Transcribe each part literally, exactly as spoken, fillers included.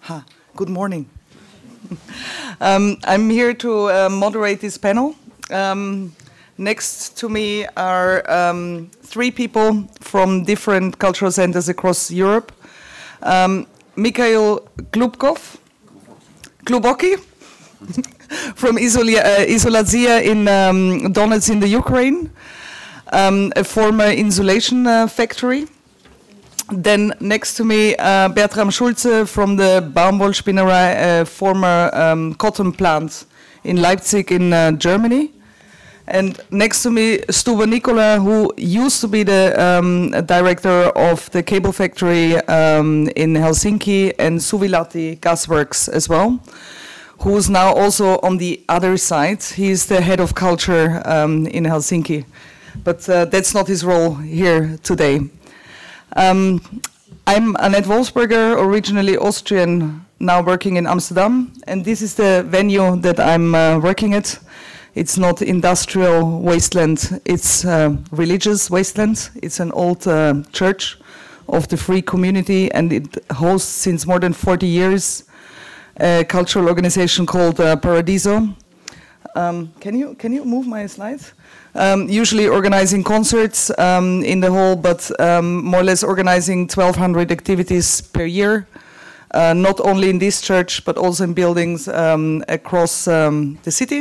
Ha, good morning. um, I'm here to uh, moderate this panel. Um, next to me are um, three people from different cultural centers across Europe. Um, Mikhail Glubkov, Glubocki, from Isolia, uh, Izolazia in um, Donetsk in the Ukraine, um, a former insulation uh, factory. Then next to me, uh, Bertram Schulze from the Baumwollspinnerei, a former um, cotton plant in Leipzig in uh, Germany. And next to me, Stuba Nicola, who used to be the um, director of the cable factory um, in Helsinki, and Suvilahti Gasworks as well, who is now also on the other side. He is the head of culture um, in Helsinki. But uh, that's not his role here today. Um, I'm Annette Wolfsberger, originally Austrian, now working in Amsterdam, and this is the venue that I'm uh, working at. It's not industrial wasteland, it's uh, religious wasteland. It's an old uh, church of the free community, and it hosts since more than forty years a cultural organization called uh, Paradiso. Um, can you can you move my slides? Um, usually organizing concerts um, in the hall, but um, more or less organizing twelve hundred activities per year, uh, not only in this church, but also in buildings um, across um, the city.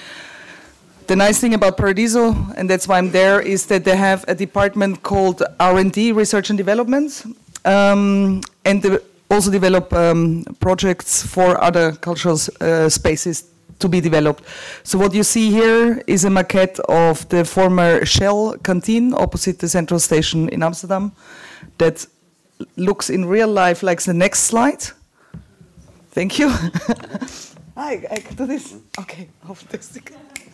The nice thing about Paradiso, and that's why I'm there, is that they have a department called R and D, Research and Development, um, and they also develop um, projects for other cultural uh, spaces to be developed. So what you see here is a maquette of the former Shell canteen opposite the central station in Amsterdam that looks in real life like the next slide. Thank you. I, I can do this. Okay, fantastic.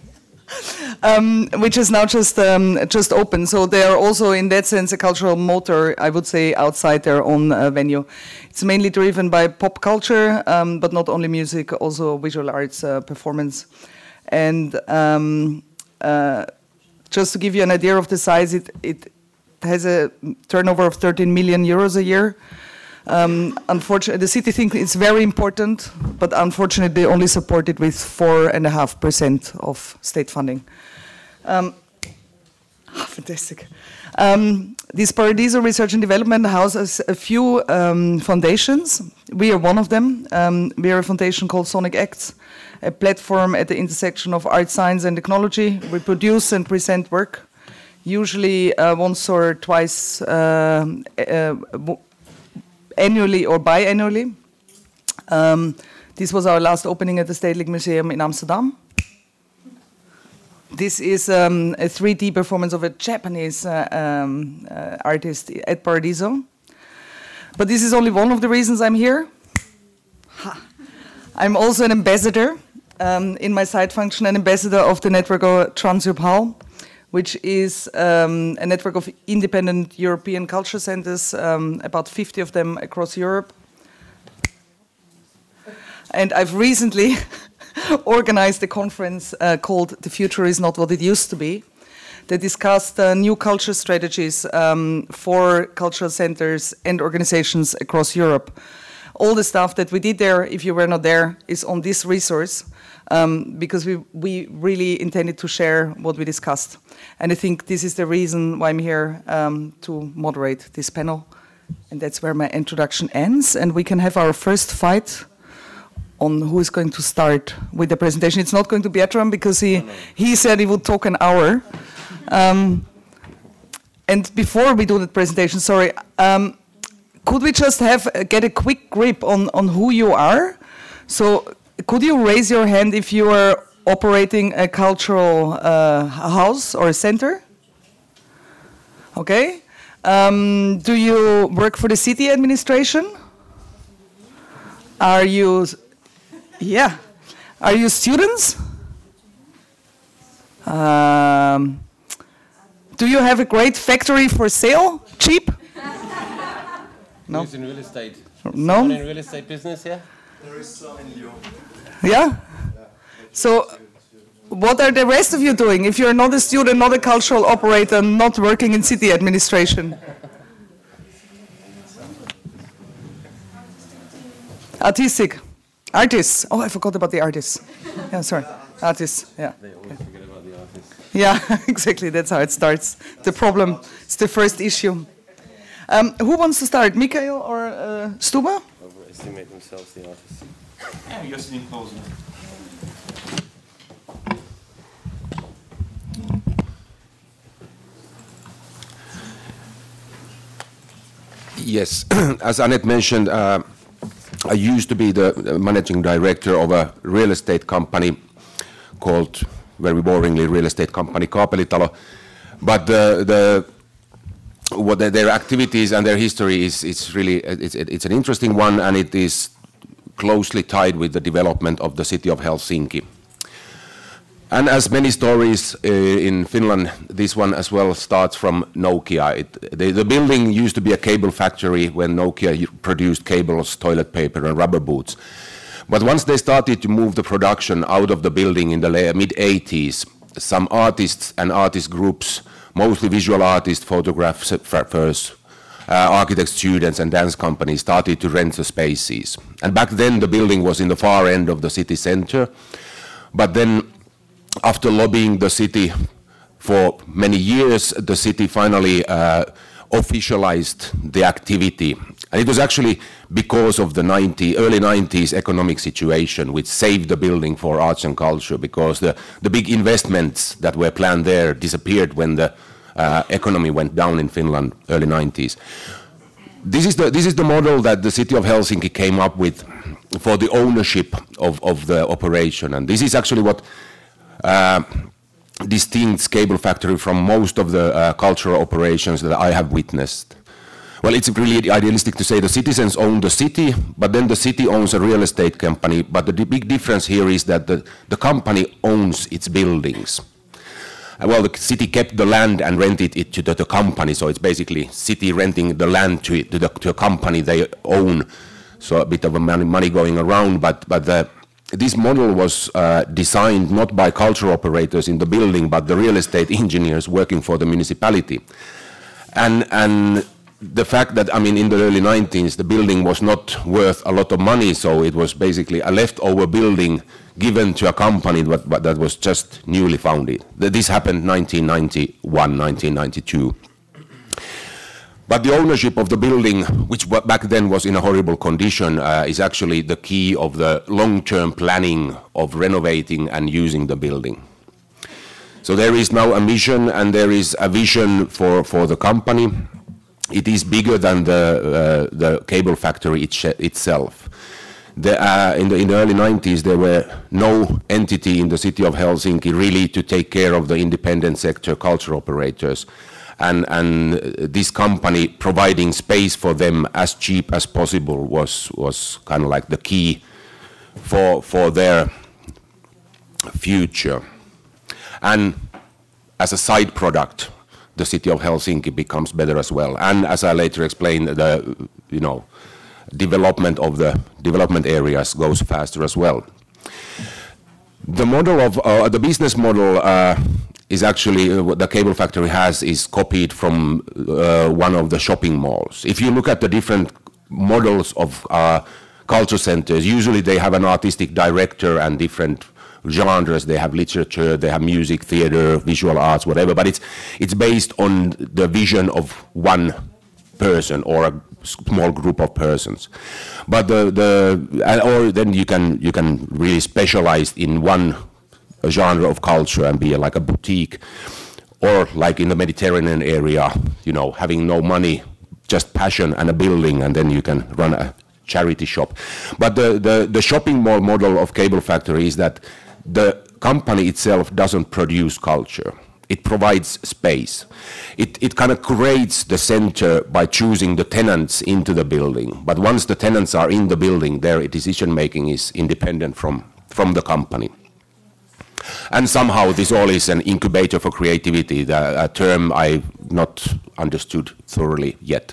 Um, which is now just um, just open. So they are also, in that sense, a cultural motor, I would say, outside their own uh, venue. It's mainly driven by pop culture, um, but not only music, also visual arts uh, performance. And um, uh, just to give you an idea of the size, it, it has a turnover of thirteen million euros a year. Um, unfortunately, the city thinks it's very important, but unfortunately, they only support it with four and a half percent of state funding. Um, oh, fantastic. Um, this Paradiso Research and Development houses a few um, foundations. We are one of them. Um, we are a foundation called Sonic Acts, a platform at the intersection of art, science, and technology. We produce and present work, usually uh, once or twice. Uh, uh, annually or biannually. Um, this was our last opening at the Stedelijk Museum in Amsterdam. This is um, a three D performance of a Japanese uh, um, uh, artist at Paradiso. But this is only one of the reasons I'm here. Ha. I'm also an ambassador, um, in my side function, an ambassador of the network of Transeurope, which is um, a network of independent European culture centers, um, about fifty of them across Europe. And I've recently organized a conference uh, called The Future is Not What It Used to Be, that discussed uh, new culture strategies um, for cultural centers and organizations across Europe. All the stuff that we did there, if you were not there, is on this resource. Um, because we, we really intended to share what we discussed. And I think this is the reason why I'm here um, to moderate this panel. And that's where my introduction ends. And we can have our first fight on who is going to start with the presentation. It's not going to be Bertram because he, he said he would talk an hour. Um, and before we do the presentation, sorry, um, could we just have get a quick grip on, on who you are? So, could you raise your hand if you are operating a cultural uh, house or a center? Okay. Um, do you work for the city administration? Are you, yeah. Are you students? Um, do you have a great factory for sale? Cheap? No. Who's in real estate? No. Someone in real estate business here? There is some in Lyon. Yeah? So, what are the rest of you doing if you're not a student, not a cultural operator, not working in city administration? Artistic. Artists. Oh, I forgot about the artists. Yeah, sorry. Artists, yeah. They always forget about the artists. Yeah, exactly. That's how it starts. The problem, it's the first issue. Um, who wants to start, Michael or uh, Stuba? Overestimate themselves, the artists. Yeah, you're sitting closer. Yes, as Annette mentioned, uh, I used to be the managing director of a real estate company called, very boringly, real estate company Kaapelitalo. But the, the what the, their activities and their history is, it's really it's, it's an interesting one, and it is closely tied with the development of the city of Helsinki. And as many stories uh, in Finland, this one as well starts from Nokia. It, the, the building used to be a cable factory when Nokia produced cables, toilet paper and rubber boots. But once they started to move the production out of the building in the mid eighties, some artists and artist groups, mostly visual artists, photographers, uh, architect students and dance companies started to rent the spaces. And back then the building was in the far end of the city center. But then after lobbying the city for many years, the city finally uh, officialized the activity. And it was actually because of the ninety, early nineties economic situation which saved the building for arts and culture, because the, the big investments that were planned there disappeared when the uh, economy went down in Finland, early nineties. This is the, this is the model that the city of Helsinki came up with for the ownership of, of the operation. And this is actually what Uh, distincts Cable Factory from most of the uh, cultural operations that I have witnessed. Well, it's really idealistic to say the citizens own the city, but then the city owns a real estate company. But the big difference here is that the, the company owns its buildings. Uh, well, the city kept the land and rented it to the, the company, so it's basically city renting the land to, to, the, to a company they own. So a bit of a money, money going around, but, but the this model was uh, designed not by cultural operators in the building, but the real estate engineers working for the municipality. And, and the fact that, I mean, in the early nineties, the building was not worth a lot of money, so it was basically a leftover building given to a company that, that was just newly founded. This happened nineteen ninety-one, nineteen ninety-two. But the ownership of the building, which back then was in a horrible condition, uh, is actually the key of the long-term planning of renovating and using the building. So there is now a mission and there is a vision for, for the company. It is bigger than the, uh, the cable factory it itself. The, uh, in, the, in the early nineties, there were no entity in the city of Helsinki really to take care of the independent sector culture operators. And, and this company providing space for them as cheap as possible was, was kind of like the key for, for their future. And as a side product, the city of Helsinki becomes better as well. And as I later explained, the you know, development of the development areas goes faster as well. The model of uh, the business model uh, is actually uh, what the Cable Factory has is copied from uh, one of the shopping malls. If you look at the different models of uh, culture centers, usually they have an artistic director and different genres. They have literature, they have music, theater, visual arts, whatever. But it's it's based on the vision of one person or a small group of persons. But the the or then you can you can really specialize in one a genre of culture and be like a boutique, or like in the Mediterranean area, you know, having no money, just passion and a building, and then you can run a charity shop. But the, the, the shopping mall model of Cable Factory is that the company itself doesn't produce culture. It provides space. It, it kind of creates the center by choosing the tenants into the building. But once the tenants are in the building, their decision making is independent from, from the company. And somehow this all is an incubator for creativity, the, a term I've not understood thoroughly yet.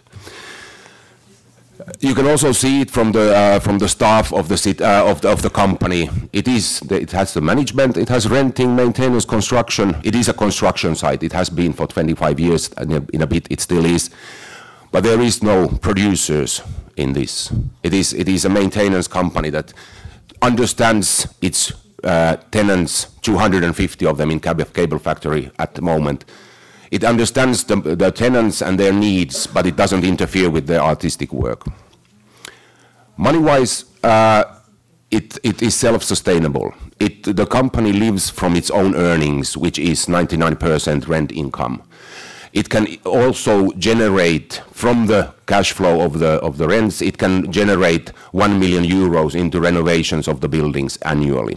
You can also see it from the uh, from the staff of the, sit, uh, of the of the company. It is the, it has the management, it has renting, maintenance, construction. It is a construction site. It has been for twenty-five years, and in a bit it still is. But there is no producers in this. It is, it is a maintenance company that understands its uh, tenants, two hundred fifty of them in Cable, Cable Factory at the moment. It understands the, the tenants and their needs, but it doesn't interfere with their artistic work. Money-wise, uh, it, it is self-sustainable. It, the company lives from its own earnings, which is ninety-nine percent rent income. It can also generate, from the cash flow of the, of the rents, it can generate one million euros into renovations of the buildings annually.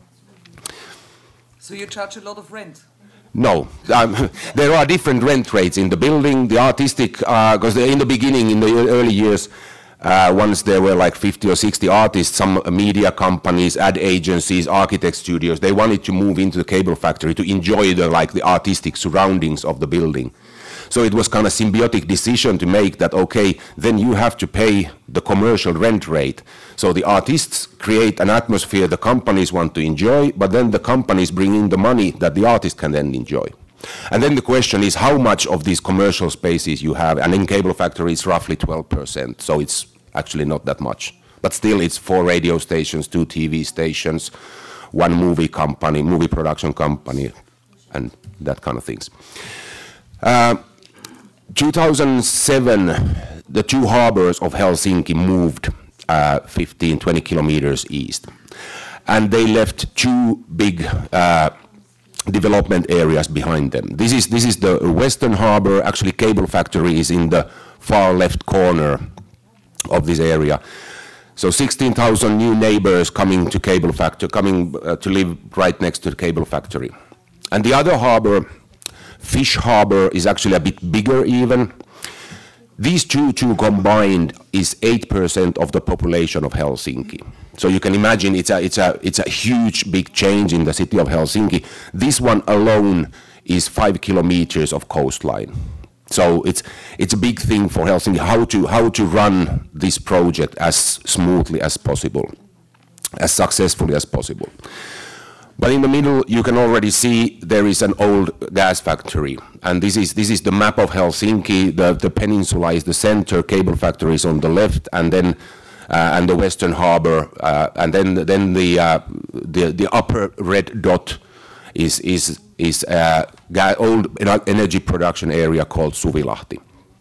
So you charge a lot of rent? No, um, there are different rent rates in the building. The artistic, because uh, in the beginning, in the early years, uh, once there were like fifty or sixty artists, some media companies, ad agencies, architect studios, they wanted to move into the Cable Factory to enjoy the like the artistic surroundings of the building. So it was kind of symbiotic decision to make that, okay, then you have to pay the commercial rent rate. So the artists create an atmosphere the companies want to enjoy, but then the companies bring in the money that the artist can then enjoy. And then the question is how much of these commercial spaces you have, and in Cable Factory it's roughly twelve percent, so it's actually not that much. But still it's four radio stations, two T V stations, one movie company, movie production company, and that kind of things. Uh, two thousand seven, the two harbors of Helsinki moved uh, fifteen, twenty kilometers east. And they left two big uh, development areas behind them. This is, this is the Western Harbor. Actually, Cable Factory is in the far left corner of this area. So sixteen thousand new neighbors coming to Cable Factory, coming uh, to live right next to the Cable Factory. And the other harbor, Fish Harbor, is actually a bit bigger even. These two, two combined is eight percent of the population of Helsinki. So you can imagine it's a, it's a, it's a huge, big change in the city of Helsinki. This one alone is five kilometers of coastline. So it's, it's a big thing for Helsinki, how to, how to run this project as smoothly as possible, as successfully as possible. But in the middle, you can already see there is an old gas factory. And this is, this is the map of Helsinki. The, the peninsula is the center, Cable Factory is on the left, and then uh, and the Western Harbor, uh, and then then the, uh, the the upper red dot is is is a uh, old energy production area called Suvilahti.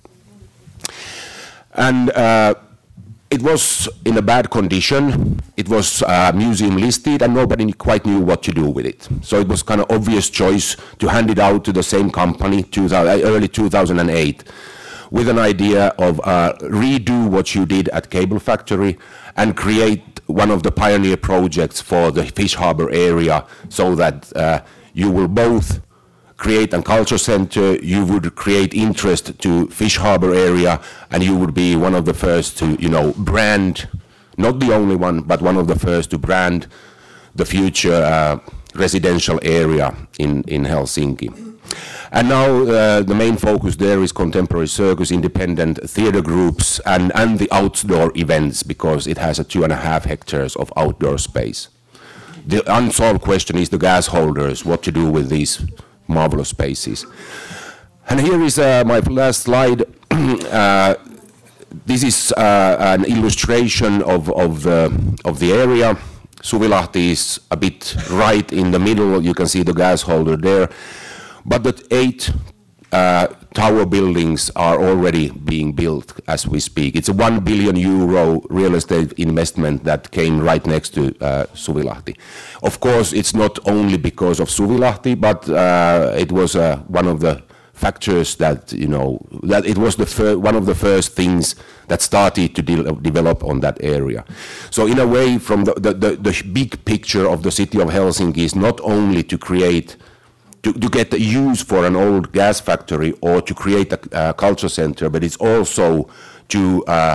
And uh, it was in a bad condition. It was uh, museum listed and nobody quite knew what to do with it. So it was kind of obvious choice to hand it out to the same company, early two thousand eight, with an idea of uh, redo what you did at Cable Factory and create one of the pioneer projects for the Fish Harbor area, so that uh, you will both create a culture center, you would create interest to Fish Harbor area, and you would be one of the first to, you know, brand, not the only one, but one of the first to brand the future uh, residential area in, in Helsinki. And now uh, the main focus there is contemporary circus, independent theater groups, and, and the outdoor events, because it has a two and a half hectares of outdoor space. The unsolved question is the gas holders, what to do with these marvelous spaces. And here is uh, my last slide. uh, this is uh, an illustration of, of, the, of the area. Suvilahti is a bit right in the middle. You can see the gas holder there. But the eight uh, tower buildings are already being built as we speak. It's a one billion euro real estate investment that came right next to uh, Suvilahti. Of course, it's not only because of Suvilahti, but uh, it was uh, one of the factors that, you know, that it was the fir- one of the first things that started to de- develop on that area. So in a way, from the, the, the, the big picture of the city of Helsinki is not only to create To, to get the use for an old gas factory or to create a uh, culture center, but it's also to uh,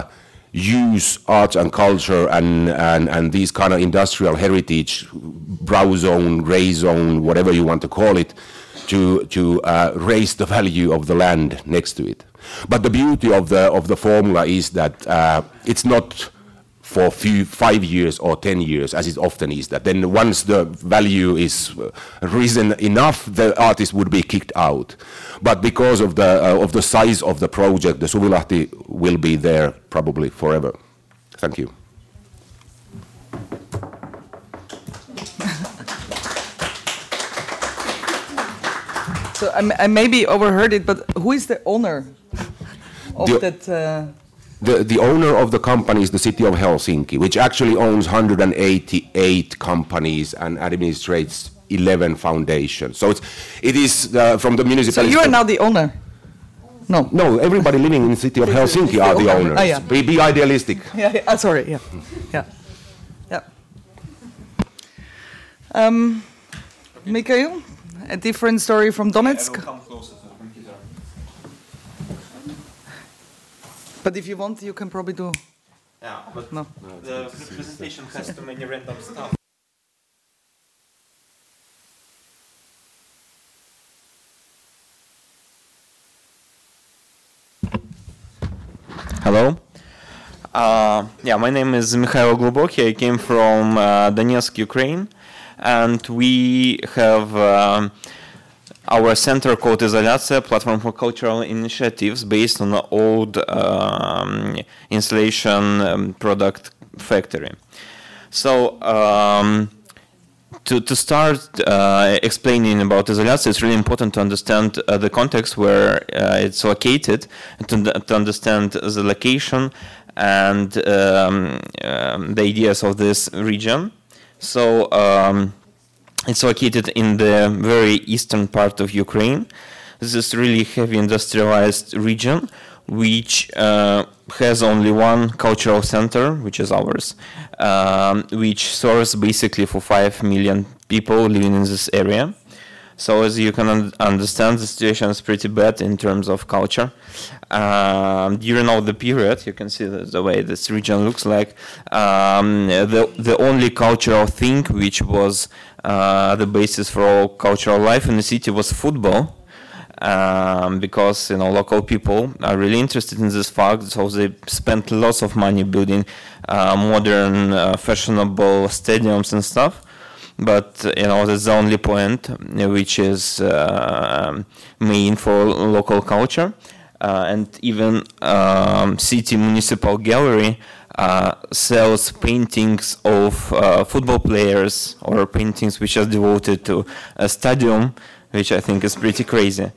use arts and culture and, and, and these kind of industrial heritage, brown zone, gray zone, whatever you want to call it, to, to uh, raise the value of the land next to it. But the beauty of the, of the formula is that uh, it's not for few, five years or ten years, as it often is. That then once the value is uh, risen enough, the artist would be kicked out. But because of the uh, of the size of the project, the Suvilahti will be there probably forever. Thank you. So I, m- I maybe overheard it, but who is the owner of The- that? Uh, The, the owner of the company is the city of Helsinki, which actually owns one hundred eighty-eight companies and administrates eleven foundations. So it's, it is uh, from the so municipality. you are now the owner? No. No, everybody living in the city of Helsinki are the owners. Ah, yeah. Be, be idealistic. Yeah, yeah. Ah, sorry. Yeah, yeah, yeah. Um, Mikhail, a different story from Donetsk. I will come closer to the computer. But if you want, you can probably do. Yeah, but No. the presentation has too many random stuff. Hello. Uh, yeah, my name is Mikhail Globoky. I came from uh, Donetsk, Ukraine, and we have um, our center called Izolyatsiya, Platform for Cultural Initiatives, based on the old um, installation um, product factory. So um, to, to start uh, explaining about Izolyatsiya, it's really important to understand uh, the context where uh, it's located, and to, to understand the location and um, um, the ideas of this region. So um, it's located in the very eastern part of Ukraine. This is really heavy industrialized region, which uh, has only one cultural center, which is ours, um, which serves basically for five million people living in this area. So as you can un understand, the situation is pretty bad in terms of culture. Um, during all the period, you can see the, the way this region looks like. Um, the, the only cultural thing which was uh, the basis for all cultural life in the city was football. Um, because you know local people are really interested in this fact, so they spent lots of money building uh, modern, uh, fashionable stadiums and stuff. But you know that's the only point which is uh, main for local culture, uh, and even um, city municipal gallery uh, sells paintings of uh, football players or paintings which are devoted to a stadium, which I think is pretty crazy.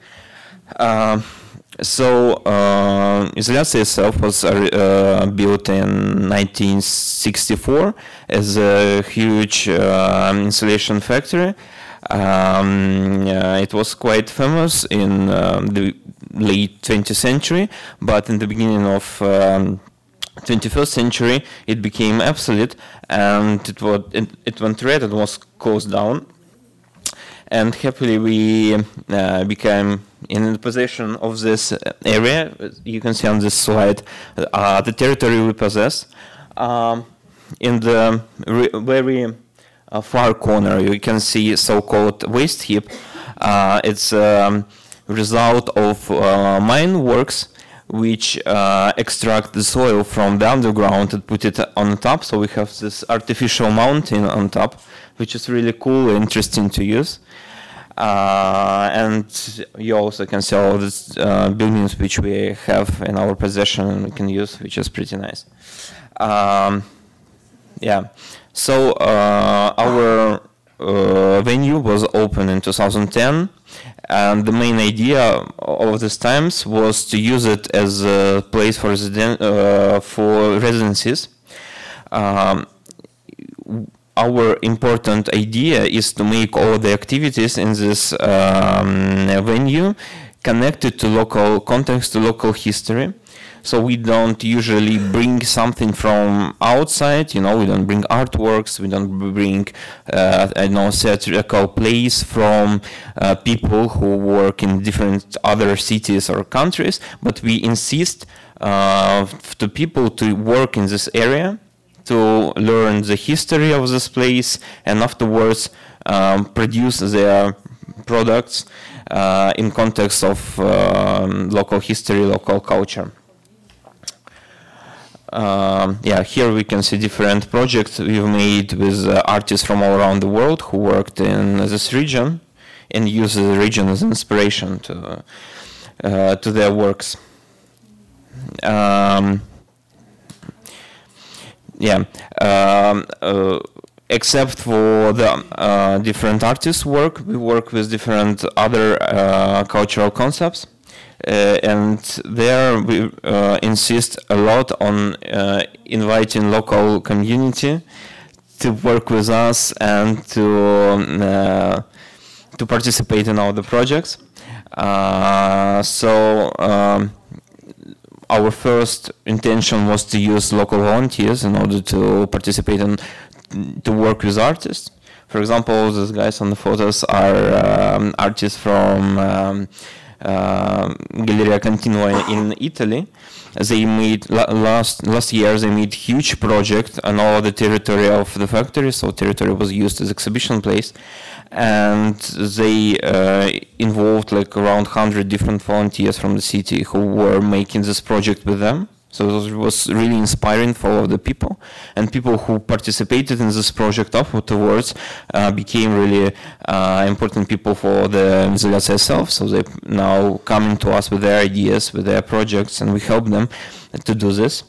Uh, so uh, Izolyatsiya itself was uh, built in nineteen sixty-four as a huge uh, insulation factory. Um, uh, it was quite famous in um, the late twentieth century, but in the beginning of um, twenty-first century it became obsolete, and it, was, it, it went red and was closed down. And happily we uh, became in the possession of this area. You can see on this slide uh, the territory we possess. Um, in the very uh, far corner you can see so-called waste heap. Uh, it's a um, result of uh, mine works which uh, extract the soil from the underground and put it on top. So we have this artificial mountain on top, which is really cool and interesting to use. Uh, and you also can see all these uh, buildings which we have in our possession and we can use, which is pretty nice. Um, yeah, so uh, our uh, venue was opened in two thousand ten, and the main idea of these times was to use it as a place for, residen uh, for residencies. Um, Our important idea is to make all the activities in this um, venue connected to local context, to local history. So we don't usually bring something from outside, you know, we don't bring artworks, we don't bring, uh, I don't know, theatrical plays from uh, people who work in different other cities or countries, but we insist uh, to people to work in this area, to learn the history of this place, and afterwards um, produce their products uh, in context of um, local history, local culture. um, yeah, here we can see different projects we've made with uh, artists from all around the world who worked in this region and use the region as inspiration to uh, to their works. Um, yeah, um, uh, except for the uh, different artists' work, we work with different other uh, cultural concepts. Uh, and there we uh, insist a lot on uh, inviting local community to work with us and to uh, to participate in all the projects. Uh, so um, our first intention was to use local volunteers in order to participate and to work with artists. For example, these guys on the photos are um, artists from um, Uh, Galleria Continua in Italy. They made last last year. They made huge project on all the territory of the factory. So territory was used as exhibition place, and they uh, involved like around one hundred different volunteers from the city who were making this project with them. So it was really inspiring for all of the people, and people who participated in this project afterwards uh, became really uh, important people for the Izolyatsiya itself. So they now coming to us with their ideas, with their projects, and we help them to do this.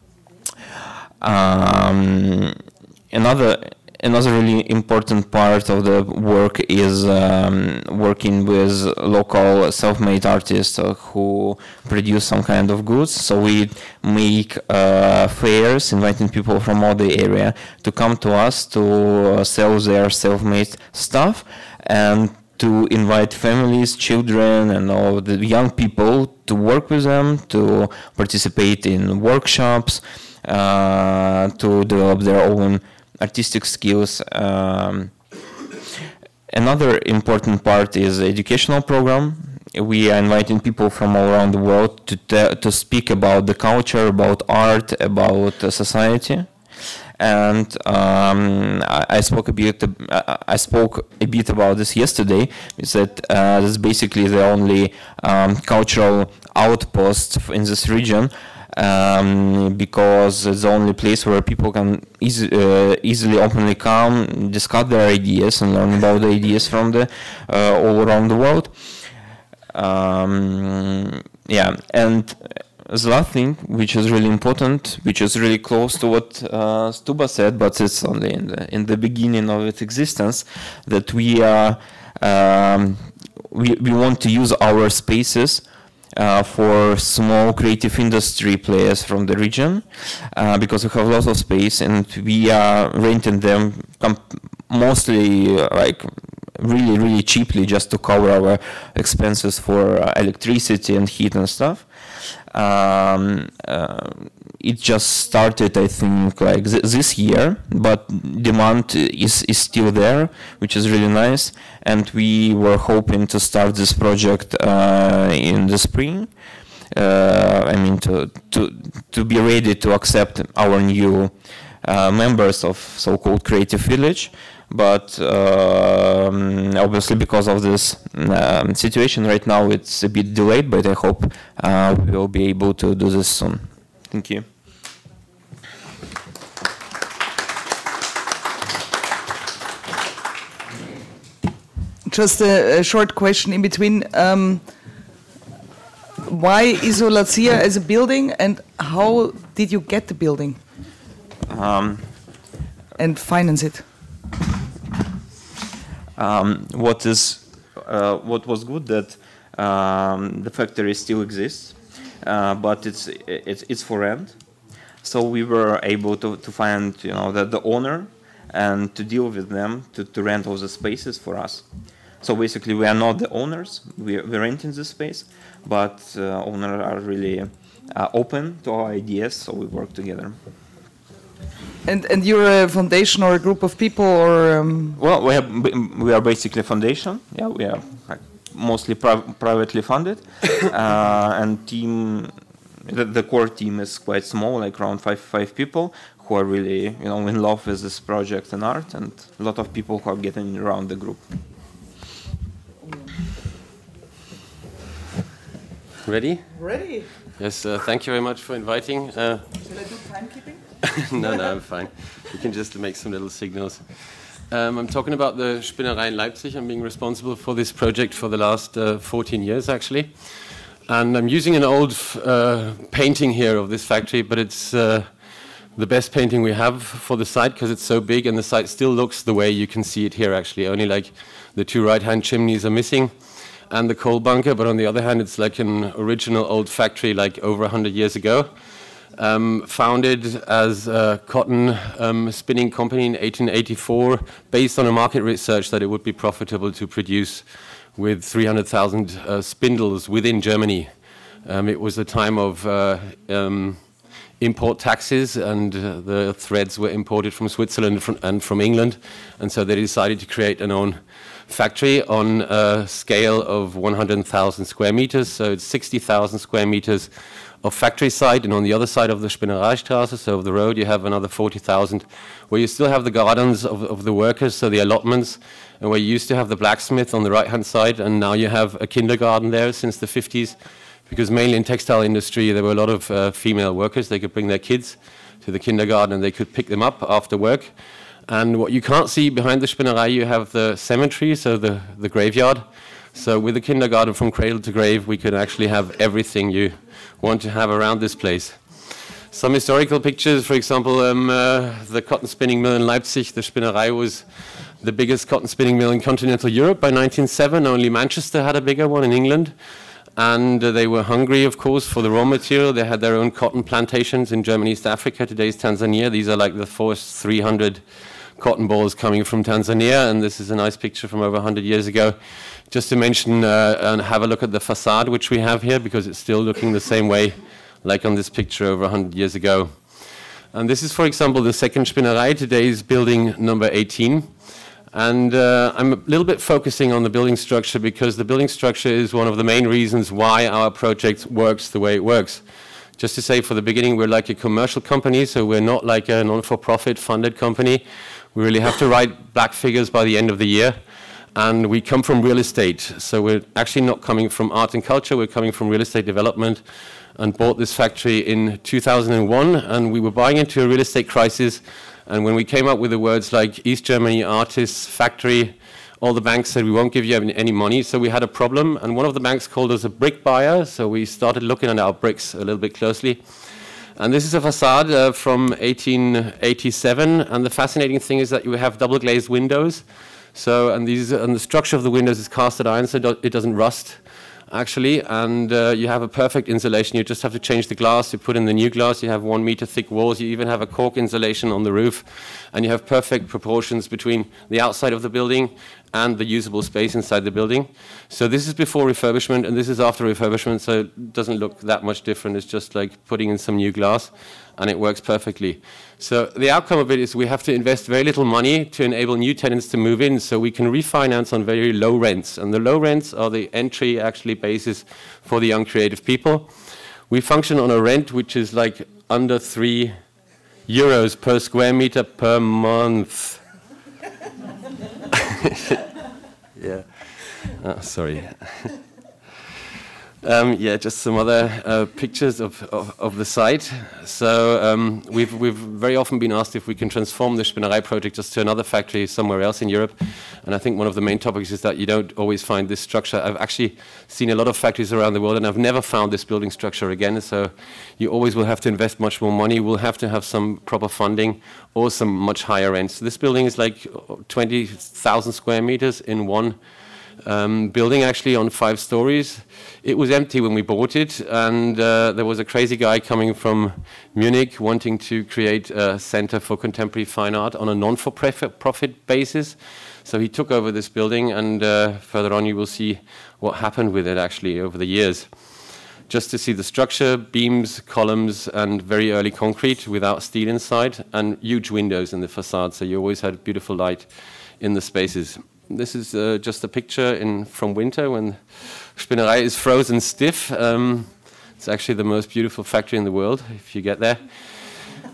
Um, another Another really important part of the work is um, working with local self-made artists uh, who produce some kind of goods. So we make uh, fairs, inviting people from all the area to come to us to uh, sell their self-made stuff, and to invite families, children, and all the young people to work with them, to participate in workshops, uh, to develop their own artistic skills. Um, another important part is the educational program. We are inviting people from all around the world to te- to speak about the culture, about art, about uh, society. And um, I, I spoke a bit. Uh, I spoke a bit about this yesterday. Is that uh, this is basically the only um, cultural outpost in this region. Um, because it's the only place where people can easy, uh, easily, openly come, discuss their ideas, and learn about the ideas from the uh, all around the world. Um, yeah, and the last thing, which is really important, which is really close to what uh, Stuba said, but it's only in the in the beginning of its existence, that we are um, we we want to use our spaces Uh, for small creative industry players from the region, uh, because we have lots of space and we are renting them comp- mostly uh, like really really cheaply, just to cover our expenses for uh, electricity and heat and stuff. Um, uh, it just started, I think, like th- this year, but demand is, is still there, which is really nice. And we were hoping to start this project uh, in the spring. Uh, I mean, to, to to be ready to accept our new uh, members of so-called Creative Village. But um, obviously, because of this um, situation right now, it's a bit delayed. But I hope uh, we will be able to do this soon. Thank you. Just a, a short question in between. Um, why Izolyatsiya as a building, and how did you get the building Um, and finance it? Um, what is uh, what was good that um, the factory still exists, uh, but it's it's it's for rent. So we were able to, to find you know the, the owner and to deal with them to, to rent all the spaces for us. So basically, we are not the owners. We we're renting the space, but uh, owners are really uh, open to our ideas. So we work together. And and you're a foundation or a group of people, or um... well, we have we are basically a foundation. Yeah, we are like, mostly pri- privately funded, uh, and team. The, the core team is quite small, like around five five people who are really you know in love with this project and art, and a lot of people who are getting around the group. Ready? Ready. Yes, uh, thank you very much for inviting. Uh, Shall I do timekeeping? no, no, I'm fine. You can just make some little signals. Um, I'm talking about the Spinnerei in Leipzig. I'm being responsible for this project for the last uh, fourteen years, actually. And I'm using an old uh, painting here of this factory, but it's uh, the best painting we have for the site because it's so big and the site still looks the way you can see it here, actually. Only like the two right-hand chimneys are missing and the coal bunker, but on the other hand, it's like an original old factory like over one hundred years ago. Um, founded as a cotton um, spinning company in eighteen eighty-four, based on a market research that it would be profitable to produce with three hundred thousand uh, spindles within Germany. Um, it was a time of uh, um, import taxes, and uh, the threads were imported from Switzerland from, and from England, and so they decided to create an own factory on a scale of one hundred thousand square meters, so it's sixty thousand square meters of factory site, and on the other side of the Spinnereistraße, so of the road, you have another forty thousand, where you still have the gardens of, of the workers, so the allotments, and where you used to have the blacksmith on the right-hand side, and now you have a kindergarten there since the fifties, because mainly in textile industry, there were a lot of uh, female workers. They could bring their kids to the kindergarten, and they could pick them up after work. And what you can't see behind the Spinnerei, you have the cemetery, so the, the graveyard. So with the kindergarten from cradle to grave, we could actually have everything you want to have around this place. Some historical pictures, for example, um, uh, the cotton spinning mill in Leipzig, the Spinnerei was the biggest cotton spinning mill in continental Europe by nineteen oh seven. Only Manchester had a bigger one in England. And uh, they were hungry, of course, for the raw material. They had their own cotton plantations in Germany, East Africa, today's Tanzania. These are like the first three hundred cotton balls coming from Tanzania, and this is a nice picture from over one hundred years ago. Just to mention uh, and have a look at the facade which we have here, because it's still looking the same way like on this picture over one hundred years ago. And this is, for example, the second Spinnerei. Today is building number eighteen. And uh, I'm a little bit focusing on the building structure because the building structure is one of the main reasons why our project works the way it works. Just to say, for the beginning, we're like a commercial company, so we're not like a non-for-profit funded company. We really have to write black figures by the end of the year. And we come from real estate, so we're actually not coming from art and culture, we're coming from real estate development, and bought this factory in two thousand one, and we were buying into a real estate crisis, and when we came up with the words like East Germany Artists Factory, all the banks said we won't give you any money, so we had a problem, and one of the banks called us a brick buyer, so we started looking at our bricks a little bit closely. And this is a facade uh, from eighteen eighty-seven, and the fascinating thing is that you have double glazed windows. So, and these, and the structure of the windows is casted iron, so it doesn't rust, actually. And uh, you have a perfect insulation. You just have to change the glass. You put in the new glass. You have one meter thick walls. You even have a cork insulation on the roof, and you have perfect proportions between the outside of the building and the usable space inside the building. So this is before refurbishment, and this is after refurbishment. So it doesn't look that much different. It's just like putting in some new glass, and it works perfectly. So the outcome of it is we have to invest very little money to enable new tenants to move in, so we can refinance on very low rents. And the low rents are the entry actually basis for the young creative people. We function on a rent which is like under three euros per square meter per month. Yeah. Oh, sorry. Um, yeah, just some other uh, pictures of, of, of the site. So um, we've, we've very often been asked if we can transform the Spinnerei project just to another factory somewhere else in Europe. And I think one of the main topics is that you don't always find this structure. I've actually seen a lot of factories around the world, and I've never found this building structure again. So you always will have to invest much more money. We'll have to have some proper funding or some much higher rents. So this building is like twenty thousand square meters in one Um, building, actually, on five stories. It was empty when we bought it, and uh, there was a crazy guy coming from Munich wanting to create a center for contemporary fine art on a non-for-profit basis. So he took over this building, and uh, further on you will see what happened with it actually over the years. Just to see the structure, beams, columns, and very early concrete without steel inside, and huge windows in the facade, so you always had beautiful light in the spaces. This is uh, just a picture in from winter when Spinnerei is frozen stiff. Um, it's actually the most beautiful factory in the world if you get there.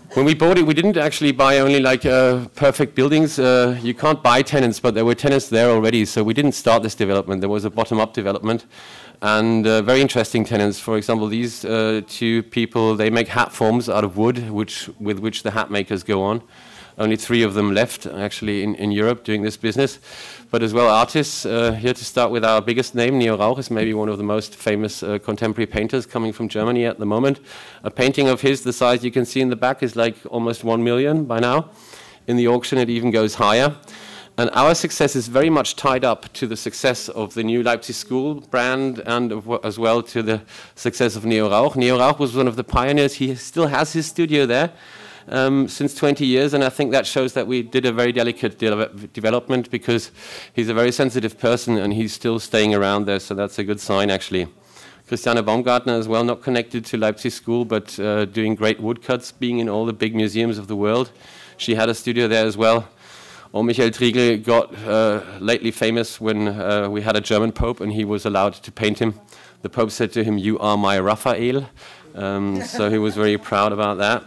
When we bought it, we didn't actually buy only like uh, perfect buildings. Uh, you can't buy tenants, but there were tenants there already, so we didn't start this development. There was a bottom-up development, and uh, very interesting tenants. For example, these uh, two people, they make hat forms out of wood, which with which the hat makers go on. Only three of them left, actually, in, in Europe doing this business. But as well, artists. Uh, here to start with our biggest name, Neo Rauch is maybe one of the most famous uh, contemporary painters coming from Germany at the moment. A painting of his, the size you can see in the back, is like almost one million by now. In the auction, it even goes higher. And our success is very much tied up to the success of the new Leipzig School brand and of, as well to the success of Neo Rauch. Neo Rauch was one of the pioneers. He still has his studio there. Um, since twenty years, and I think that shows that we did a very delicate de development because he's a very sensitive person and he's still staying around there, so that's a good sign actually. Christiane Baumgartner as well, not connected to Leipzig School, but uh, doing great woodcuts, being in all the big museums of the world. She had a studio there as well. Or Michael Triegel got uh, lately famous when uh, we had a German Pope and he was allowed to paint him. The Pope said to him, "You are my Raphael," um, so he was very proud about that.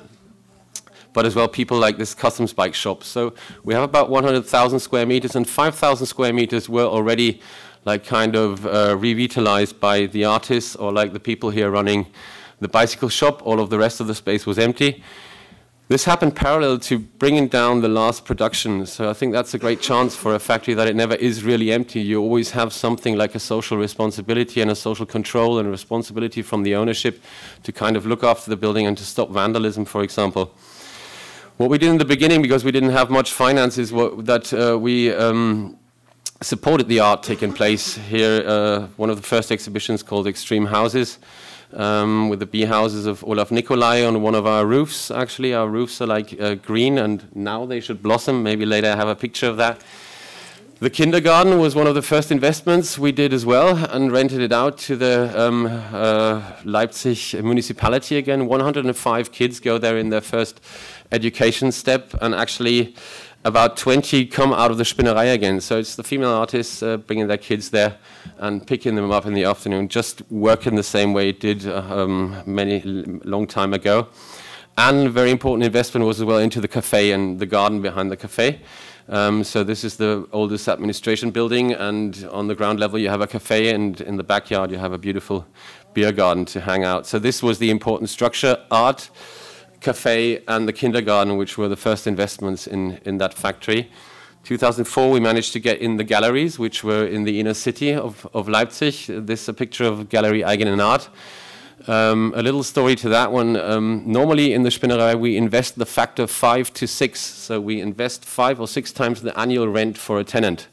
But as well, people like this customs bike shop. So we have about one hundred thousand square meters, and five thousand square meters were already like kind of uh, revitalized by the artists or like the people here running the bicycle shop. All of the rest of the space was empty. This happened parallel to bringing down the last production. So I think that's a great chance for a factory that it never is really empty. You always have something like a social responsibility and a social control and a responsibility from the ownership to kind of look after the building and to stop vandalism, for example. What we did in the beginning, because we didn't have much finance, is what, that uh, we um, supported the art taking place here. Uh, one of the first exhibitions called Extreme Houses, um, with the bee houses of Olaf Nicolai on one of our roofs. Actually, our roofs are like uh, green, and now they should blossom. Maybe later I have a picture of that. The kindergarten was one of the first investments we did as well, and rented it out to the um, uh, Leipzig municipality again. one hundred five kids go there in their first education step, and actually about twenty come out of the Spinnerei again. So it's the female artists uh, bringing their kids there and picking them up in the afternoon, just working the same way it did uh, um, many long time ago. And very important investment was as well into the cafe and the garden behind the cafe. Um, so this is the oldest administration building, and on the ground level you have a cafe, and in the backyard you have a beautiful beer garden to hang out. So this was the important structure: art, cafe, and the kindergarten, which were the first investments in, in that factory. two thousand four we managed to get in the galleries, which were in the inner city of, of Leipzig. This is a picture of Gallery Eigenen Art. Um, a little story to that one. Um, normally in the Spinnerei we invest the factor five to six, so we invest five or six times the annual rent for a tenant.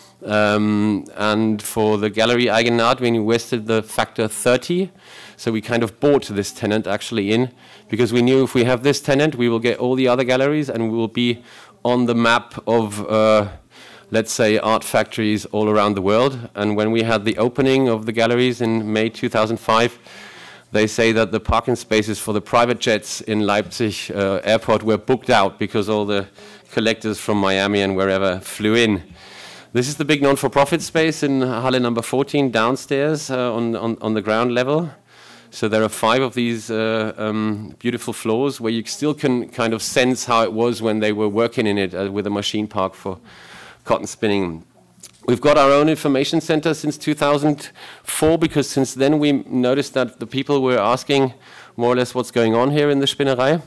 Um, and for the Gallery Eigenen Art we invested the factor thirty, so we kind of bought this tenant actually in, because we knew if we have this tenant we will get all the other galleries and we will be on the map of uh, let's say art factories all around the world. And when we had the opening of the galleries in May two thousand five, they say that the parking spaces for the private jets in Leipzig uh, airport were booked out because all the collectors from Miami and wherever flew in. This is the big non-for-profit space in Halle number fourteen downstairs uh, on, on, on the ground level. So there are five of these uh, um, beautiful floors where you still can kind of sense how it was when they were working in it uh, with a machine park for cotton spinning. We've got our own information center since two thousand four, because since then we noticed that the people were asking more or less what's going on here in the Spinnerei.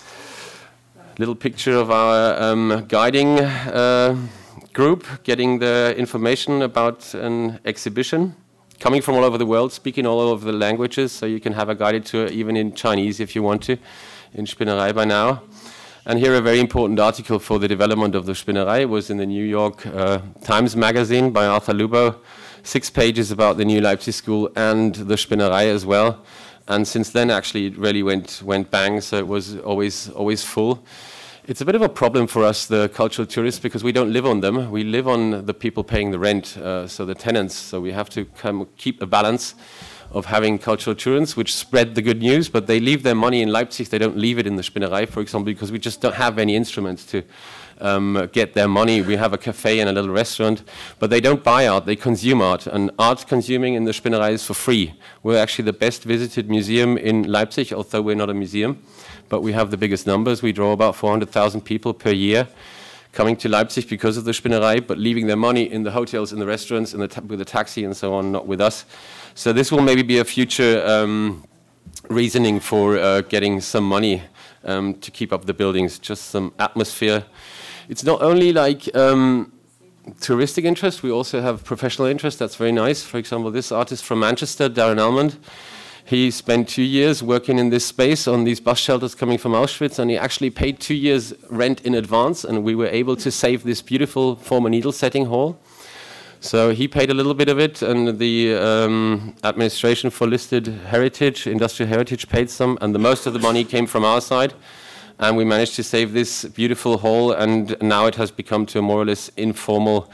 Little picture of our um, guiding uh, group getting the information about an exhibition, coming from all over the world, speaking all over the languages, so you can have a guided tour even in Chinese if you want to, in Spinnerei by now. And here a very important article for the development of the Spinnerei was in the New York uh, Times magazine by Arthur Lubo. Six pages about the new Leipzig School and the Spinnerei as well. And since then actually it really went went bang, so it was always always full. It's a bit of a problem for us, the cultural tourists, because we don't live on them. We live on the people paying the rent, uh, so the tenants. So we have to come keep a balance of having cultural tourists which spread the good news, but they leave their money in Leipzig. They don't leave it in the Spinnerei, for example, because we just don't have any instruments to um, get their money. We have a cafe and a little restaurant, but they don't buy art, they consume art. And art consuming in the Spinnerei is for free. We're actually the best visited museum in Leipzig, although we're not a museum, but we have the biggest numbers. We draw about four hundred thousand people per year coming to Leipzig because of the Spinnerei, but leaving their money in the hotels, in the restaurants, in the ta with the taxi and so on, not with us. So this will maybe be a future um, reasoning for uh, getting some money um, to keep up the buildings, just some atmosphere. It's not only like um, touristic interest, we also have professional interest. That's very nice. For example, this artist from Manchester, Darren Almond, he spent two years working in this space on these bus shelters coming from Auschwitz, and he actually paid two years rent in advance, and we were able to save this beautiful former needle setting hall. So he paid a little bit of it, and the um, administration for listed heritage, industrial heritage, paid some, and the most of the money came from our side. And we managed to save this beautiful hall, and now it has become to a more or less informal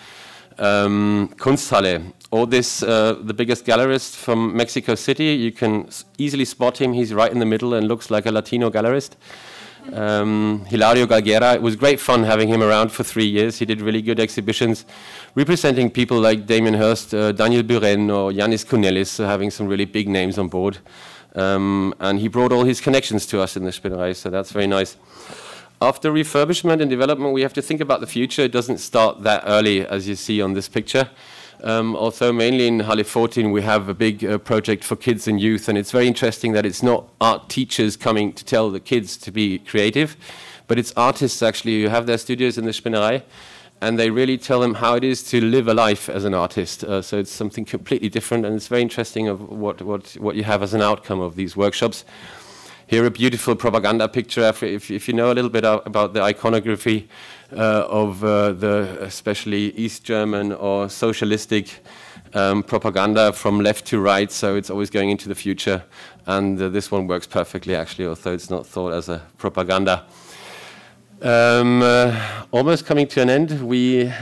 um, Kunsthalle. Or this, uh, the biggest gallerist from Mexico City, you can easily spot him. He's right in the middle and looks like a Latino gallerist. Um, Hilario Galguera. It was great fun having him around for three years. He did really good exhibitions representing people like Damien Hirst, uh, Daniel Buren, or Yanis Kounelis, so having some really big names on board. Um, and he brought all his connections to us in the Spinnerei, so that's very nice. After refurbishment and development, we have to think about the future. It doesn't start that early, as you see on this picture. Um, although mainly in Halle fourteen we have a big uh, project for kids and youth, and it's very interesting that it's not art teachers coming to tell the kids to be creative, but it's artists actually who have their studios in the Spinnerei, and they really tell them how it is to live a life as an artist. Uh, so it's something completely different, and it's very interesting of what, what, what you have as an outcome of these workshops. Here a beautiful propaganda picture, if, if you know a little bit about the iconography uh, of uh, the especially East German or socialistic um, propaganda from left to right, so it's always going into the future. And uh, this one works perfectly actually, although it's not thought as a propaganda. Um, uh, almost coming to an end, we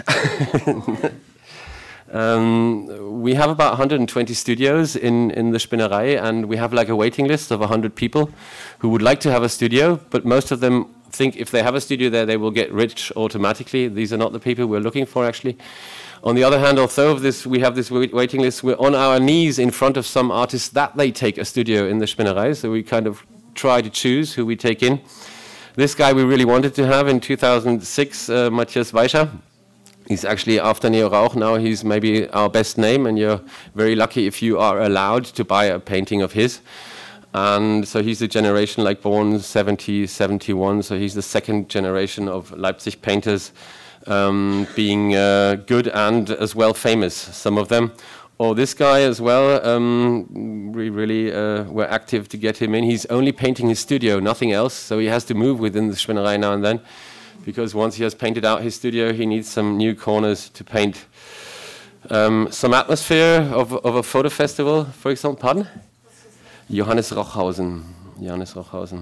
um, we have about one hundred twenty studios in, in the Spinnerei, and we have like a waiting list of one hundred people who would like to have a studio, but most of them think if they have a studio there, they will get rich automatically. These are not the people we're looking for, actually. On the other hand, although this, we have this waiting list, we're on our knees in front of some artists that they take a studio in the Spinnerei, so we kind of try to choose who we take in. This guy we really wanted to have in two thousand six, uh, Matthias Weischer. He's actually, after Neo Rauch now, he's maybe our best name, and you're very lucky if you are allowed to buy a painting of his. And so he's a generation like born seventy, seventy-one, so he's the second generation of Leipzig painters, um, being uh, good and as well famous, some of them. Or this guy as well, um, we really uh, were active to get him in. He's only painting his studio, nothing else, so he has to move within the Spinnerei now and then, because once he has painted out his studio, he needs some new corners to paint. Um, some atmosphere of, of a photo festival, for example, pardon? Johannes Rochhausen. Johannes Rochhausen.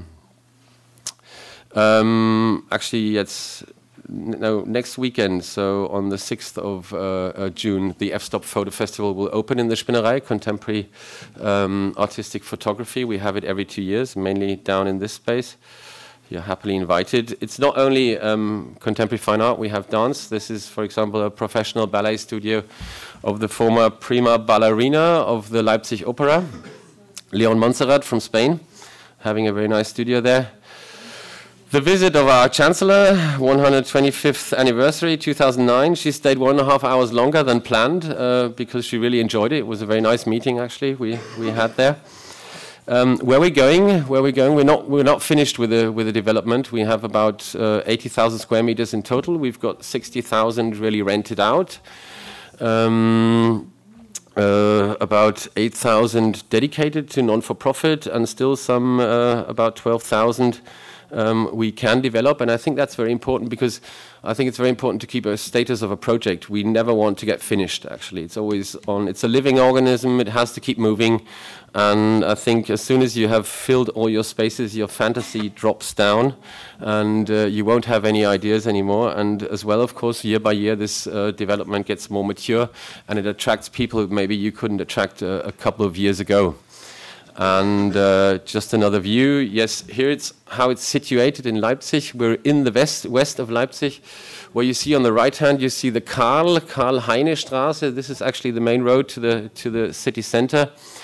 Um, actually, it's no next weekend. So on the sixth of uh, uh, June, the F-Stop Photo Festival will open in the Spinnerei. Contemporary um, artistic photography. We have it every two years, mainly down in this space. You're happily invited. It's not only um, contemporary fine art. We have dance. This is, for example, a professional ballet studio of the former prima ballerina of the Leipzig Opera, Leon Montserrat from Spain, having a very nice studio there. The visit of our Chancellor, one hundred twenty-fifth anniversary, two thousand nine. She stayed one and a half hours longer than planned uh, because she really enjoyed it. It was a very nice meeting, actually, we, we had there. Um, where we're going, where we're going, we're not we're not finished with the with the development. We have about uh, eighty thousand square meters in total. We've got sixty thousand really rented out. Um, Uh, about eight thousand dedicated to non-for-profit, and still some uh, about twelve thousand um, we can develop. And I think that's very important, because I think it's very important to keep a status of a project. We never want to get finished, actually. It's always on, it's a living organism, it has to keep moving. And I think as soon as you have filled all your spaces, your fantasy drops down, and uh, you won't have any ideas anymore. And as well, of course, year by year, this uh, development gets more mature, and it attracts people who maybe you couldn't attract uh, a couple of years ago. And uh, just another view. Yes, here it's how it's situated in Leipzig. We're in the west west of Leipzig, where you see on the right hand, you see the Karl, Karl-Heine Straße. This is actually the main road to the to the city center.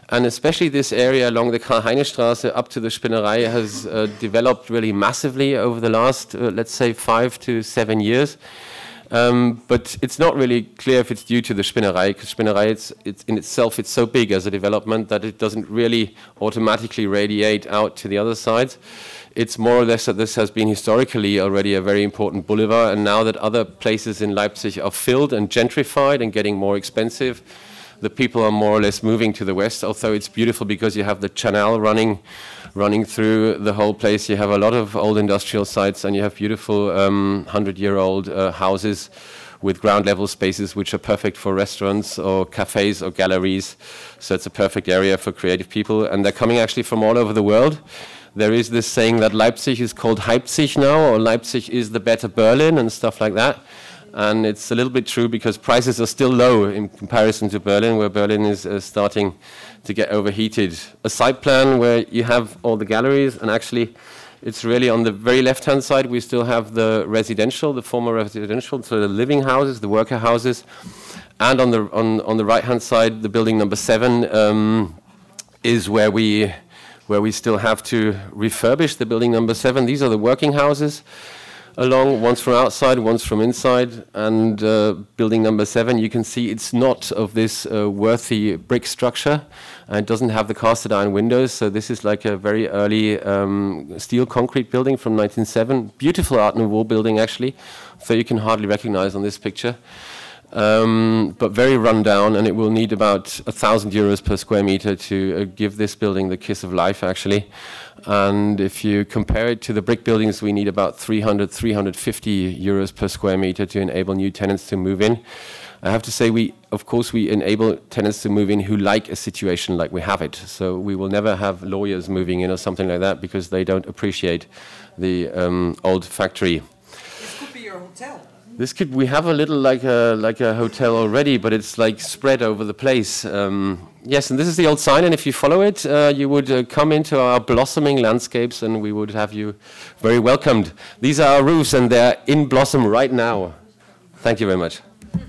And especially this area along the Karl-Heine-Straße up to the Spinnerei has uh, developed really massively over the last, uh, let's say, five to seven years. Um, but it's not really clear if it's due to the Spinnerei, because Spinnerei, it's, it's in itself, it's so big as a development that it doesn't really automatically radiate out to the other sides. It's more or less that this has been historically already a very important boulevard, and now that other places in Leipzig are filled and gentrified and getting more expensive, the people are more or less moving to the west, although it's beautiful because you have the canal running running through the whole place. You have a lot of old industrial sites, and you have beautiful um, hundred-year-old uh, houses with ground-level spaces which are perfect for restaurants or cafes or galleries. So it's a perfect area for creative people, and they're coming actually from all over the world. There is this saying that Leipzig is called Leipzig now, or Leipzig is the better Berlin and stuff like that. And it's a little bit true because prices are still low in comparison to Berlin, where Berlin is uh, starting to get overheated. A site plan where you have all the galleries, and actually it's really on the very left-hand side we still have the residential, the former residential, so the living houses, the worker houses. And on the, on, on the right-hand side, the building number seven um, is where we, where we still have to refurbish the building number seven. These are the working houses along, one's from outside, one's from inside, and uh, building number seven, you can see it's not of this uh, worthy brick structure, and it doesn't have the cast iron windows, so this is like a very early um, steel concrete building from nineteen oh seven, beautiful Art Nouveau building actually, so you can hardly recognize on this picture. Um, but very run down, and it will need about a thousand euros per square meter to uh, give this building the kiss of life actually. And if you compare it to the brick buildings, we need about three hundred, three hundred fifty euros per square meter to enable new tenants to move in. I have to say, we, of course, we enable tenants to move in who like a situation like we have it. So we will never have lawyers moving in or something like that because they don't appreciate the um, old factory. This could be your hotel. This could, we have a little like a like a hotel already, but it's like spread over the place. Um, yes, and this is the old sign, and if you follow it, uh, you would uh, come into our blossoming landscapes, and we would have you very welcomed. These are our roofs, and they're in blossom right now. Thank you very much.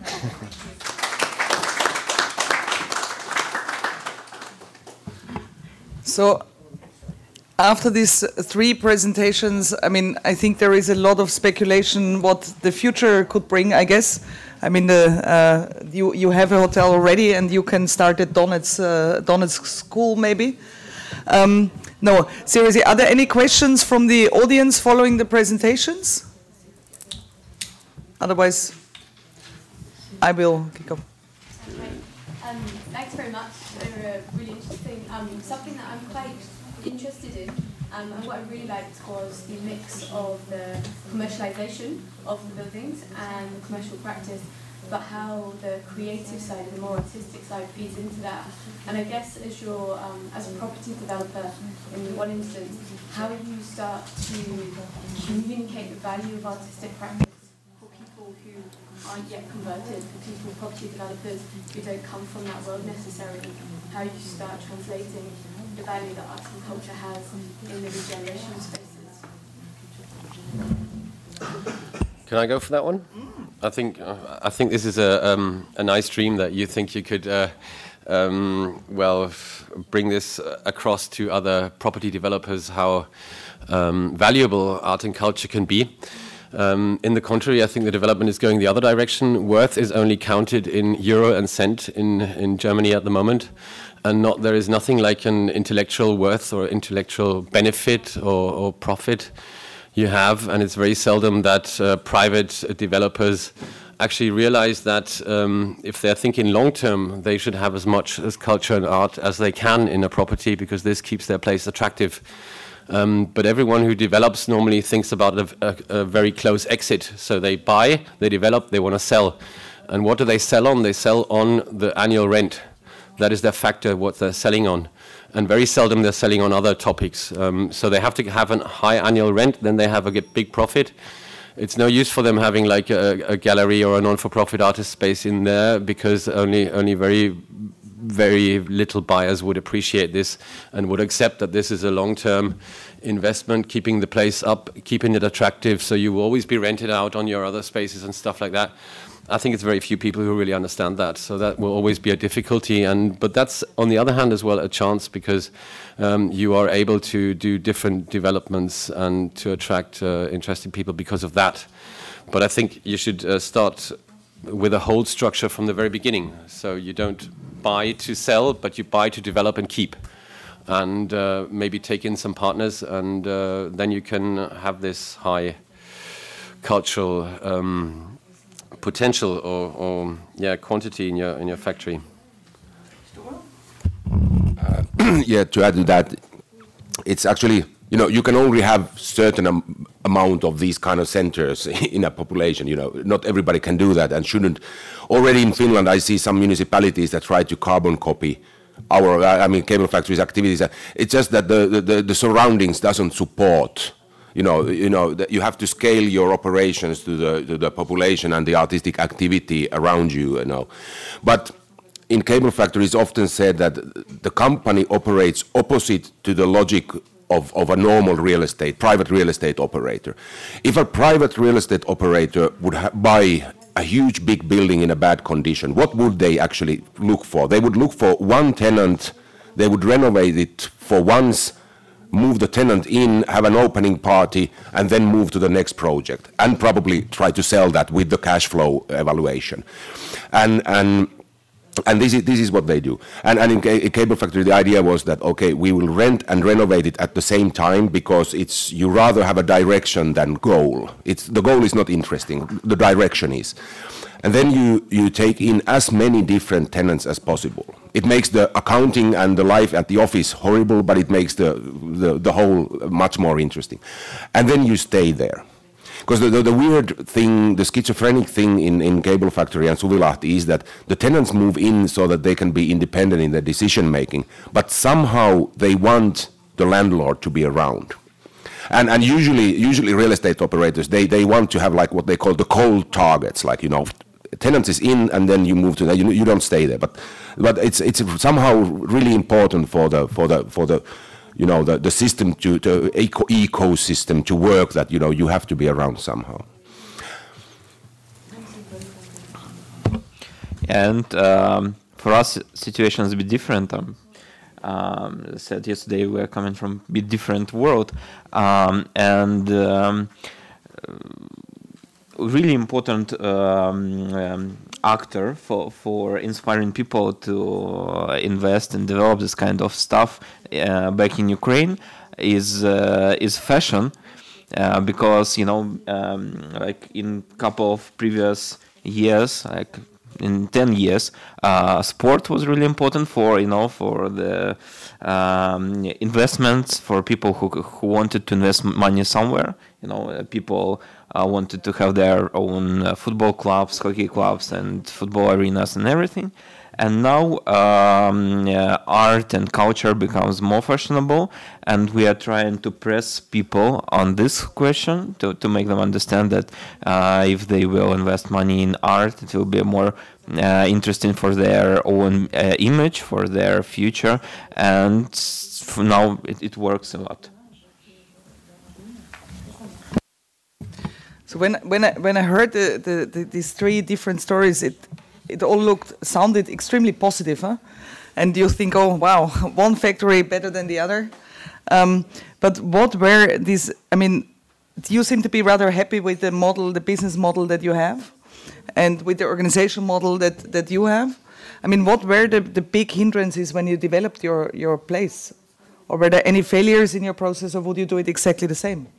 So, after these three presentations, I mean, I think there is a lot of speculation what the future could bring, I guess. I mean, the, uh, you, you have a hotel already, and you can start at Donetsk, uh, Donetsk school, maybe. Um, no, seriously, are there any questions from the audience following the presentations? Otherwise, I will kick off. Okay. Um, thanks very much. They were really interesting. Um, something that I'm quite interested in, um, and what I really liked was the mix of the commercialization of the buildings and the commercial practice, but how the creative side, the more artistic side, feeds into that. And I guess as you're, um, as a property developer, in one instance, how you start to communicate the value of artistic practice for people who aren't yet converted, for people, property developers who don't come from that world necessarily, how you start translating the value that arts and culture has in the regeneration spaces. Can I go for that one? I think uh, I think this is a um, a nice dream that you think you could uh, um, well f bring this across to other property developers, how um, valuable art and culture can be. Um, in the contrary, I think the development is going the other direction. Worth is only counted in euro and cent in in Germany at the moment. And not, there is nothing like an intellectual worth or intellectual benefit or, or profit you have, and it's very seldom that uh, private developers actually realize that um, if they're thinking long term, they should have as much as culture and art as they can in a property, because this keeps their place attractive. Um, but everyone who develops normally thinks about a, a, a very close exit. So they buy, they develop, they want to sell. And what do they sell on? They sell on the annual rent. That is their factor, what they're selling on. And very seldom they're selling on other topics. Um, so they have to have a high annual rent, then they have a big profit. It's no use for them having like a, a gallery or a non-for-profit artist space in there, because only only very, very little buyers would appreciate this and would accept that this is a long-term investment, keeping the place up, keeping it attractive, so you will always be rented out on your other spaces and stuff like that. I think it's very few people who really understand that, so that will always be a difficulty. And but that's, on the other hand, as well, a chance, because um, you are able to do different developments and to attract uh, interesting people because of that. But I think you should uh, start with a hold structure from the very beginning. So you don't buy to sell, but you buy to develop and keep. And uh, maybe take in some partners, and uh, then you can have this high cultural um, potential or, or yeah quantity in your in your factory. Uh, yeah, to add to that, it's actually, you know, you can only have certain am amount of these kind of centers in a population. You know, not everybody can do that and shouldn't. Already in Finland, I see some municipalities that try to carbon copy our, I mean, cable factories' activities. It's just that the, the, the surroundings doesn't support. You know, you know, you have to scale your operations to the, to the population and the artistic activity around you, you know. But in cable factories, it's often said that the company operates opposite to the logic of, of a normal real estate, private real estate operator. If a private real estate operator would ha buy a huge big building in a bad condition, what would they actually look for? They would look for one tenant, they would renovate it for once, move the tenant in, have an opening party, and then move to the next project, and probably try to sell that with the cash flow evaluation. And, and, and this is, this is what they do. And, and in a cable factory, the idea was that, okay, we will rent and renovate it at the same time, because it's, you rather have a direction than goal. It's, the goal is not interesting, the direction is. And then you, you take in as many different tenants as possible. It makes the accounting and the life at the office horrible, but it makes the, the, the whole much more interesting. And then you stay there. Because the, the, the weird thing, the schizophrenic thing in, in Cable Factory and Suvilahti is that the tenants move in so that they can be independent in their decision making, but somehow they want the landlord to be around. And, and usually, usually real estate operators, they, they want to have like what they call the cold targets, like, you know, tenants is in and then you move to that, you, you don't stay there. But, but it's, it's somehow really important for the, for the, for the, you know, the, the system to, the eco ecosystem to work, that, you know, you have to be around somehow. And um, for us, situations a bit different. Um, um, as I said yesterday, we are coming from a bit different world, um, and um, really important um, um, actor for for inspiring people to invest and develop this kind of stuff uh, back in Ukraine is uh, is fashion, uh, because, you know, um, like in a couple of previous years, like in ten years, uh, sport was really important for, you know, for the um, investments, for people who who wanted to invest money somewhere. You know, uh, people uh, wanted to have their own uh, football clubs, hockey clubs, and football arenas and everything. And now um, uh, art and culture becomes more fashionable, and we are trying to press people on this question to, to make them understand that uh, if they will invest money in art, it will be more uh, interesting for their own uh, image, for their future, and for now it, it works a lot. So when when I when I heard the, the, the, these three different stories, it it all looked sounded extremely positive, huh? And you think, oh wow, one factory better than the other. Um, but what were these? I mean, you seem to be rather happy with the model, the business model that you have, and with the organization model that that you have. I mean, what were the the big hindrances when you developed your your place, or were there any failures in your process, or would you do it exactly the same?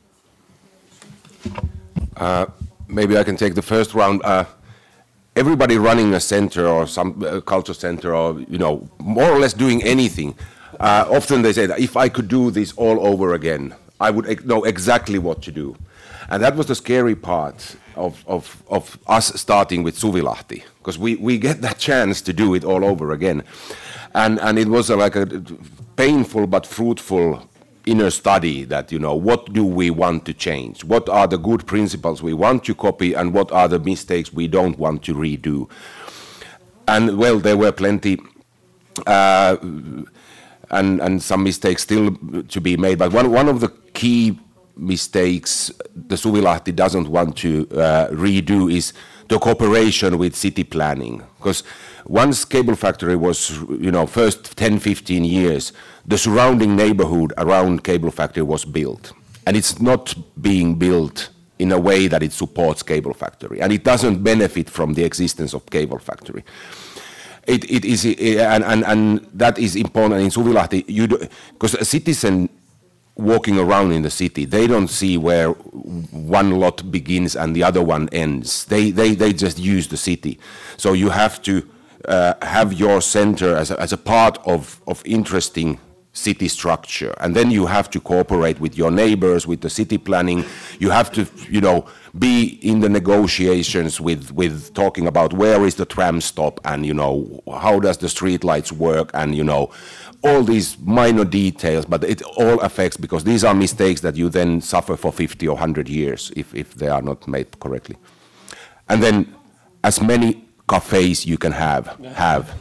Uh, maybe I can take the first round. Uh, everybody running a center or some uh, culture center, or, you know, more or less doing anything, uh, often they say that if I could do this all over again, I would ex know exactly what to do. And that was the scary part of, of, of us starting with Suvilahti, because we, we get that chance to do it all over again. And, and it was a, like a painful but fruitful inner study that, you know, what do we want to change? What are the good principles we want to copy, and what are the mistakes we don't want to redo? And, well, there were plenty. Uh, and, and some mistakes still to be made. But one, one of the key mistakes the Suvilahti doesn't want to uh, redo is the cooperation with city planning. Because once cable factory was, you know, first ten, fifteen years, the surrounding neighborhood around cable factory was built. And it's not being built in a way that it supports cable factory. And it doesn't benefit from the existence of cable factory. It, it is, and, and, and that is important in Suvilahti, because a citizen walking around in the city, they don't see where one lot begins and the other one ends. They, they, they just use the city. So you have to uh, have your center as a, as a part of, of interesting city structure. And then you have to cooperate with your neighbors, with the city planning. You have to, you know, be in the negotiations with, with talking about where is the tram stop and, you know, how does the street lights work and, you know, all these minor details, but it all affects, because these are mistakes that you then suffer for fifty or one hundred years if, if they are not made correctly. And then as many cafes you can have, have.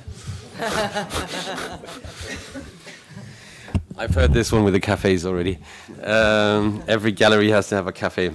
I've heard this one with the cafes already. Um, every gallery has to have a cafe.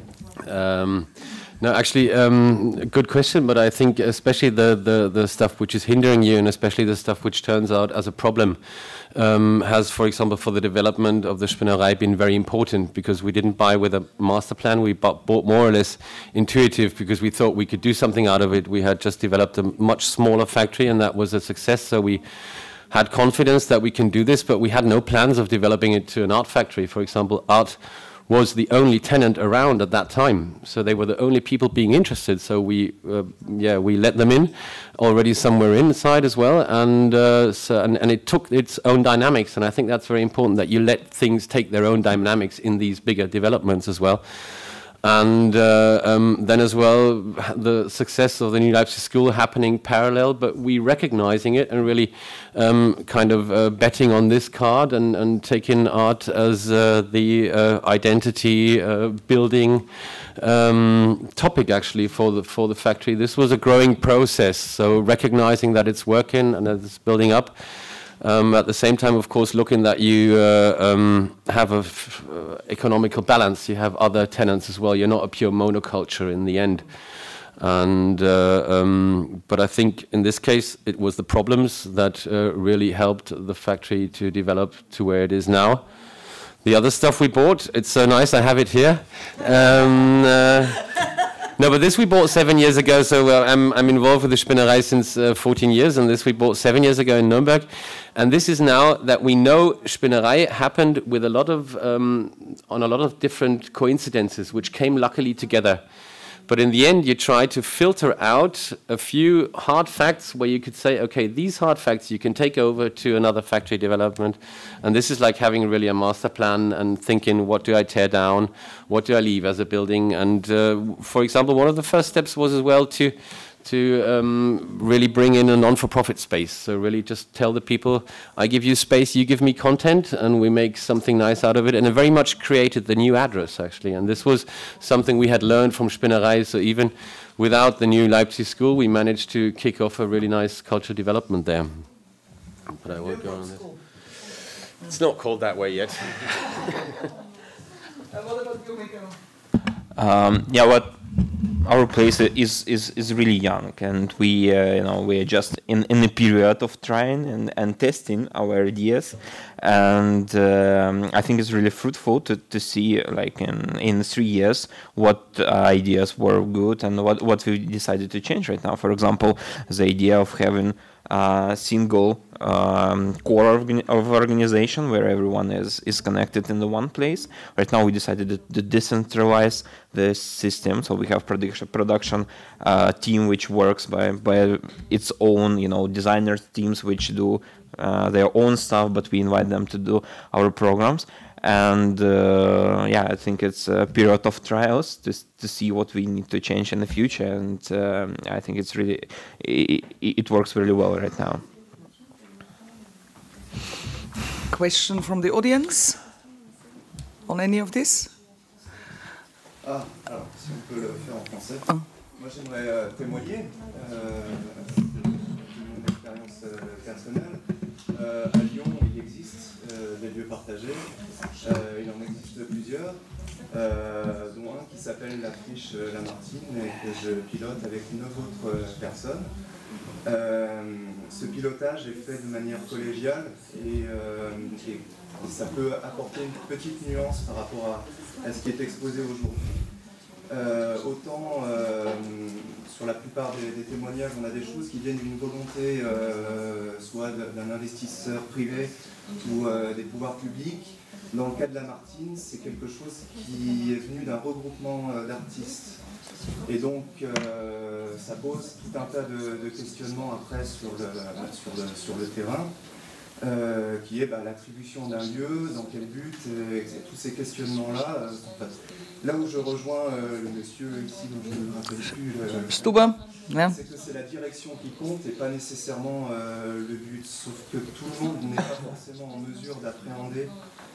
Um, no, actually, um, good question, but I think especially the, the, the stuff which is hindering you, and especially the stuff which turns out as a problem, um, has, for example, for the development of the Spinnerei been very important, because we didn't buy with a master plan. We bought, bought more or less intuitive, because we thought we could do something out of it. We had just developed a much smaller factory, and that was a success, so we had confidence that we can do this, but we had no plans of developing it to an art factory. For example, art was the only tenant around at that time, so they were the only people being interested. So we, uh, yeah, we let them in. Already somewhere inside as well, and uh, so, and, and it took its own dynamics. And I think that's very important, that you let things take their own dynamics in these bigger developments as well. And uh, um, then as well, the success of the New Leipzig School happening parallel, but we recognizing it and really um, kind of uh, betting on this card and, and taking art as uh, the uh, identity uh, building um, topic actually for the, for the factory. This was a growing process, so recognizing that it's working and that it's building up. Um, at the same time, of course, looking that you uh, um, have a f uh, economical balance. You have other tenants as well. You're not a pure monoculture in the end. And uh, um, but I think in this case, it was the problems that uh, really helped the factory to develop to where it is now. The other stuff we bought, it's so nice. I have it here. Um, uh, No, but this we bought seven years ago, so uh, I'm, I'm involved with the Spinnerei since uh, fourteen years, and this we bought seven years ago in Nuremberg. And this is now that we know Spinnerei happened with a lot of, um, on a lot of different coincidences, which came luckily together. But in the end, you try to filter out a few hard facts where you could say, okay, these hard facts you can take over to another factory development. And this is like having really a master plan and thinking, what do I tear down? What do I leave as a building? And uh, for example, one of the first steps was as well to to um, really bring in a non-for-profit space. So really just tell the people, I give you space, you give me content, and we make something nice out of it. And it very much created the new address, actually. And this was something we had learned from Spinnerei. So even without the new Leipzig School, we managed to kick off a really nice cultural development there. But I won't go on this. It's not called that way yet. What about you, Mikko? Um, yeah, what our place is is is really young, and we uh, you know we are just in in a period of trying and, and testing our ideas, and um, I think it's really fruitful to to see like in in three years what uh, ideas were good and what what we decided to change right now. For example, the idea of having a single um, core organ of organization where everyone is is connected in the one place. Right now, we decided to, to decentralize the system, so we have production production uh, team which works by by its own, you know, designer teams which do uh, their own stuff, but we invite them to do our programs. And uh, yeah, I think it's a period of trials to to see what we need to change in the future, and um, I think it's really it, it works really well right now. Question from the audience on any of this? Ah, alors, si on peut le faire en français. Ah. Moi, j'aimerais euh, témoigner euh, de mon expérience euh, personnelle. Euh, à Lyon, il y existent, euh, des lieux partagés. Euh, il en existe plusieurs, euh, dont un qui s'appelle la Friche Lamartine et que je pilote avec neuf autres personnes. Euh, ce pilotage est fait de manière collégiale et, euh, et ça peut apporter une petite nuance par rapport à, à ce qui est exposé aujourd'hui. Euh, autant euh, sur la plupart des, des témoignages, on a des choses qui viennent d'une volonté euh, soit d'un investisseur privé ou euh, des pouvoirs publics. Dans le cas de Lamartine, c'est quelque chose qui est venu d'un regroupement euh, d'artistes. Et donc, euh, ça pose tout un tas de, de questionnements après sur le, sur le, sur le terrain, euh, qui est bah, l'attribution d'un lieu, dans quel but, et, et tous ces questionnements-là. Euh, enfin, là où je rejoins euh, le monsieur ici, dont je ne me rappelle plus, euh, Stuba, yeah. C'est que c'est la direction qui compte et pas nécessairement euh, le but. Sauf que tout le monde n'est pas forcément en mesure d'appréhender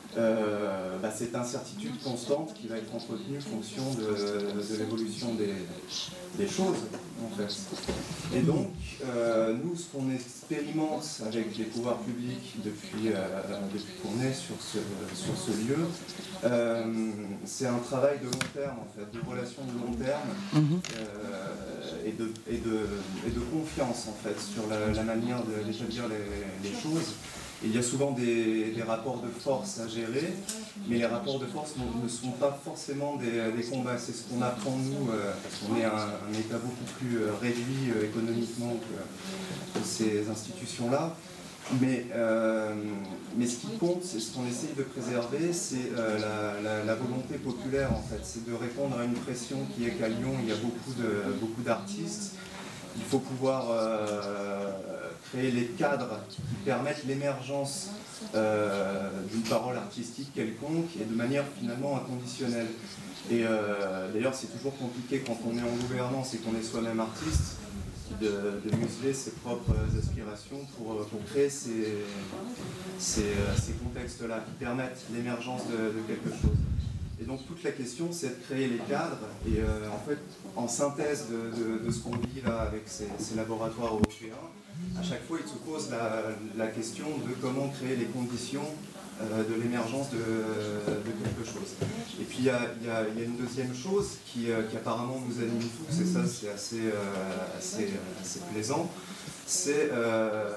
Euh, bah, cette incertitude constante qui va être entretenue en fonction de, de l'évolution des, des choses, en fait. Et donc, euh, nous, ce qu'on expérimente avec les pouvoirs publics depuis, euh, depuis qu'on est sur ce, sur ce lieu, euh, c'est un travail de long terme, en fait, de relations de long terme euh, et, de, et, de, et de confiance, en fait, sur la, la manière d'établir les, les choses. Il y a souvent des, des rapports de force à gérer, mais les rapports de force ne, ne sont pas forcément des, des combats. C'est ce qu'on apprend, nous, euh, parce qu'on est un, un État beaucoup plus euh, réduit euh, économiquement que, que ces institutions-là. Mais, euh, mais ce qui compte, c'est ce qu'on essaye de préserver, c'est euh, la, la, la volonté populaire, en fait. C'est de répondre à une pression qui est qu'à Lyon, il y a beaucoup de, beaucoup d'artistes. Il faut pouvoir euh, créer les cadres qui permettent l'émergence euh, d'une parole artistique quelconque et de manière finalement inconditionnelle. Et euh, d'ailleurs, c'est toujours compliqué quand on est en gouvernance et qu'on est soi-même artiste de, de museler ses propres aspirations pour, pour créer ces, ces, ces contextes-là qui permettent l'émergence de, de quelque chose. Et donc toute la question, c'est de créer les cadres et euh, en fait, en synthèse de, de, de ce qu'on vit là avec ces, ces laboratoires européens, à chaque fois, il se pose la, la question de comment créer les conditions euh, de l'émergence de, de quelque chose. Et puis il y a, y a, y a une deuxième chose qui, euh, qui apparemment nous anime tous, et ça c'est assez, euh, assez, assez plaisant, c'est euh,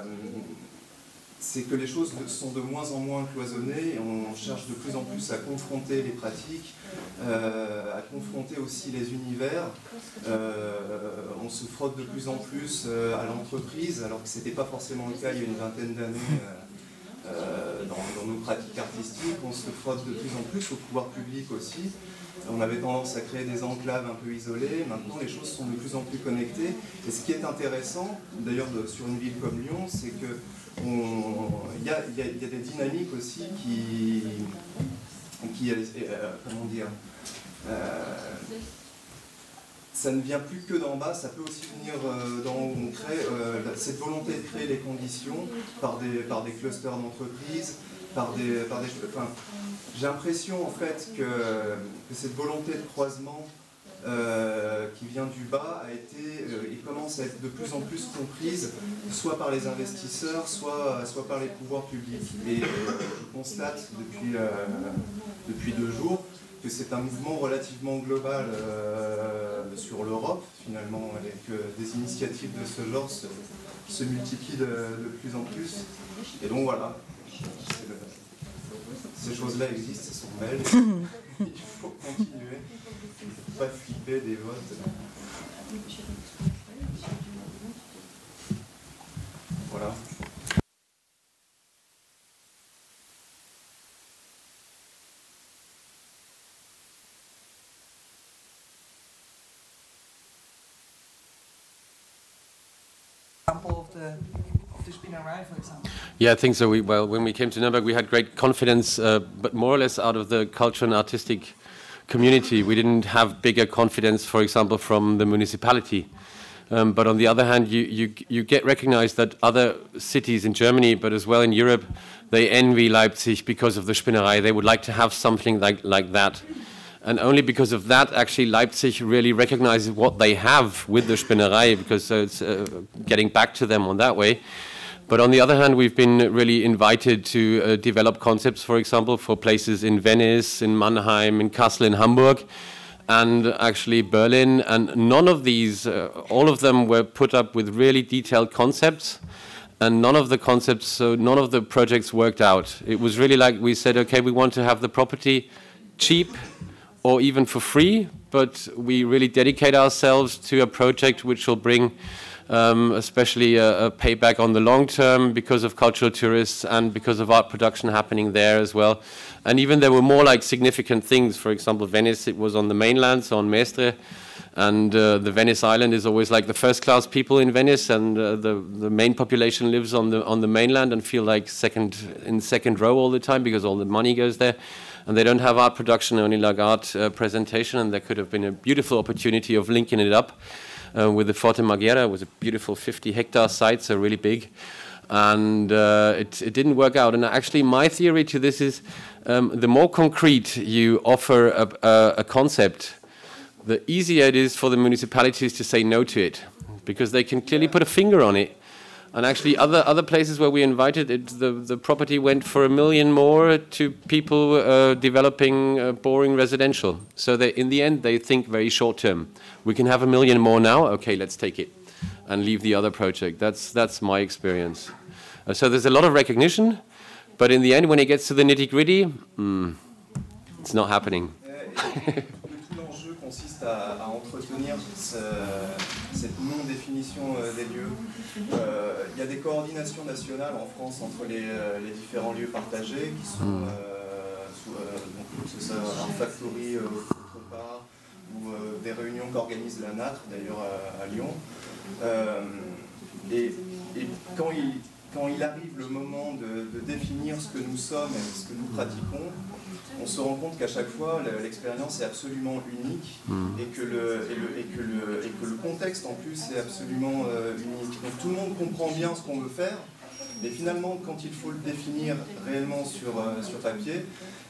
c'est que les choses sont de moins en moins cloisonnées et on cherche de plus en plus à confronter les pratiques, euh, à confronter aussi les univers. Euh, on se frotte de plus en plus euh, à l'entreprise, alors que ce n'était pas forcément le cas il y a une vingtaine d'années euh, euh, dans, dans nos pratiques artistiques. On se frotte de plus en plus au pouvoir public aussi. On avait tendance à créer des enclaves un peu isolées. Maintenant, les choses sont de plus en plus connectées. Et ce qui est intéressant, d'ailleurs, sur une ville comme Lyon, c'est que il y, y, y a des dynamiques aussi qui, qui euh, comment dire, euh, ça ne vient plus que d'en bas, ça peut aussi venir euh, d'en haut. On crée euh, cette volonté de créer les conditions par des, par des clusters d'entreprises, par des, par des, enfin, j'ai l'impression en fait que, que cette volonté de croisement Euh, qui vient du bas a été euh, et commence à être de plus en plus comprise soit par les investisseurs, soit, soit par les pouvoirs publics. Et euh, je constate depuis, euh, depuis deux jours que c'est un mouvement relativement global euh, sur l'Europe finalement, et que des initiatives de ce genre se, se multiplient de, de plus en plus. Et donc voilà, le, ces choses-là existent, elles sont belles. Il faut continuer. Il ne faut pas flipper des votes. Voilà. Example of the of the Spinnerei, for example. Yeah, I think so. We, well, when we came to Nuremberg, we had great confidence, uh, but more or less out of the cultural and artistic community. We didn't have bigger confidence, for example, from the municipality. Um, but on the other hand, you, you, you get recognized that other cities in Germany, but as well in Europe, they envy Leipzig because of the Spinnerei. They would like to have something like, like that. And only because of that, actually, Leipzig really recognizes what they have with the Spinnerei, because uh, it's uh, getting back to them on that way. But on the other hand, we've been really invited to uh, develop concepts, for example, for places in Venice, in Mannheim, in Kassel, in Hamburg, and actually Berlin. And none of these, uh, all of them were put up with really detailed concepts. And none of the concepts, so none of the projects worked out. It was really like we said, okay, we want to have the property cheap or even for free, but we really dedicate ourselves to a project which will bring um, especially a, a payback on the long term because of cultural tourists and because of art production happening there as well. And even there were more like significant things. For example, Venice, it was on the mainland, so on Mestre. And uh, the Venice Island is always like the first-class people in Venice, and uh, the the main population lives on the on the mainland and feel like second in second row all the time because all the money goes there, and they don't have art production, only like art uh, presentation. And there could have been a beautiful opportunity of linking it up uh, with the Forte Marghera. It was a beautiful fifty-hectare site, so really big, and uh, it it didn't work out. And actually, my theory to this is um, the more concrete you offer a, a, a concept, the easier it is for the municipalities to say no to it, because they can clearly put a finger on it. And actually other other places where we invited it, the, the property went for a million more to people uh, developing uh, boring residential. So they, in the end, they think very short term. We can have a million more now, okay, let's take it and leave the other project. That's, that's my experience. Uh, so there's a lot of recognition, but in the end, when it gets to the nitty gritty, mm, it's not happening. Consiste à, à entretenir ce, cette non-définition euh, des lieux. Il euh, y a des coordinations nationales en France entre les, euh, les différents lieux partagés qui sont, euh, sous, euh, donc, que ce soit un factory euh, autre part, ou euh, des réunions qu'organise la N A T R, d'ailleurs à, à Lyon. Euh, et, et quand, il, quand il arrive le moment de, de définir ce que nous sommes et ce que nous pratiquons, on se rend compte qu'à chaque fois, l'expérience est absolument unique et que le, et le, et que le, et que le contexte en plus est absolument euh, unique. Donc tout le monde comprend bien ce qu'on veut faire, mais finalement, quand il faut le définir réellement sur, euh, sur papier,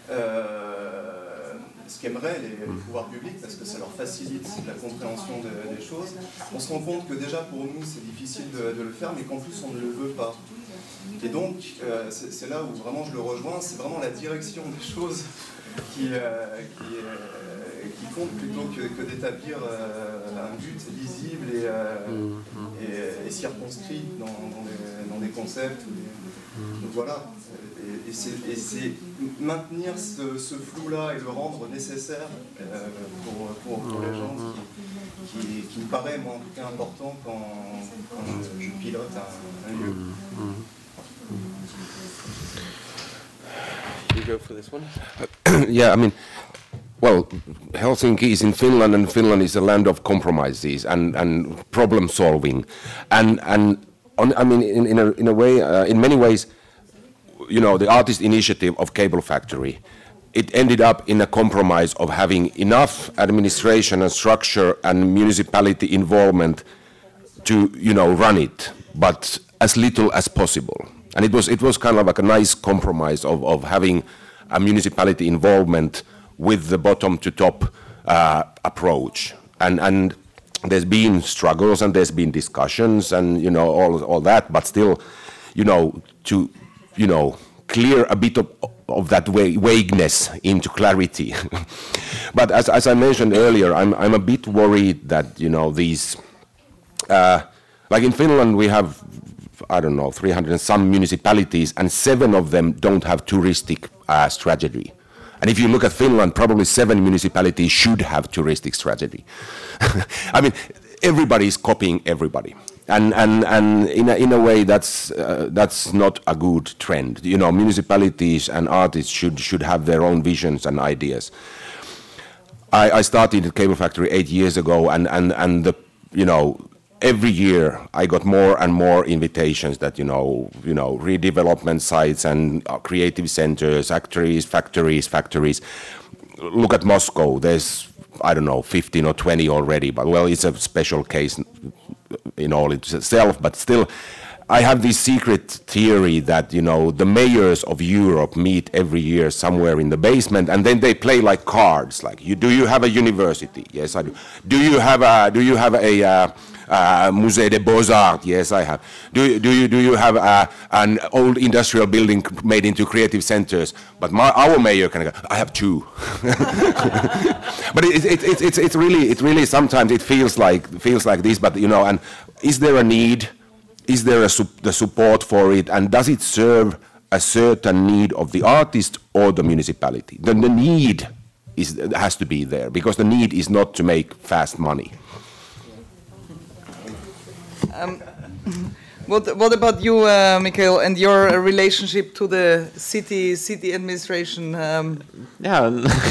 euh, ce qu'aimeraient les, les pouvoirs publics, parce que ça leur facilite la compréhension de, des choses, on se rend compte que déjà pour nous, c'est difficile de, de le faire, mais qu'en plus, on ne le veut pas. Et donc, euh, c'est là où vraiment je le rejoins, c'est vraiment la direction des choses qui, euh, qui, euh, qui compte plutôt que, que d'établir euh, un but lisible et, euh, et, et circonscrit dans, dans, des, dans des concepts. Ou des... Donc voilà, et, et c'est maintenir ce, ce flou-là et le rendre nécessaire euh, pour, pour, pour les gens qui, qui, qui me paraît, moi en tout cas, important quand, quand je, je pilote un, un lieu. You go for this one? Yeah, I mean, well, Helsinki is in Finland, and Finland is a land of compromises and, and problem solving, and and on, I mean, in, in a in a way, uh, in many ways, you know, the artist initiative of Cable Factory, it ended up in a compromise of having enough administration and structure and municipality involvement to, you know, run it, but as little as possible. And it was it was kind of like a nice compromise of, of having a municipality involvement with the bottom to top uh, approach. And and there's been struggles and there's been discussions and, you know, all all that, but still, you know, to, you know, clear a bit of, of that vagueness into clarity. But as as I mentioned earlier, I'm I'm a bit worried that, you know, these uh, like in Finland we have, I don't know, three hundred and some municipalities, and seven of them don't have touristic uh, strategy. And if you look at Finland, probably seven municipalities should have touristic strategy. I mean, everybody is copying everybody. And, and, and in, a, in a way, that's, uh, that's not a good trend. You know, municipalities and artists should, should have their own visions and ideas. I, I started at Cable Factory eight years ago, and, and, and the, you know, every year I got more and more invitations that, you know, you know, redevelopment sites and uh, creative centers, factories, factories, factories. Look at Moscow. There's, I don't know, fifteen or twenty already, but well, it's a special case in all itself, but still, I have this secret theory that, you know, the mayors of Europe meet every year somewhere in the basement, and then they play like cards. Like, you, do you have a university? Yes, I do. Do you have a? Do you have a? Uh, uh, Musée des Beaux-Arts. Yes, I have. Do you, do you, do you have uh, an old industrial building made into creative centers? But my, our mayor can go, I have two. But it, it, it, it's, it's really, it really sometimes it feels like, feels like this, but you know, and is there a need? Is there a su the support for it? And does it serve a certain need of the artist or the municipality? The, the need is, has to be there, because the need is not to make fast money. Um, what, what about you, uh, Mikhail, and your uh, relationship to the city city administration? Um, yeah,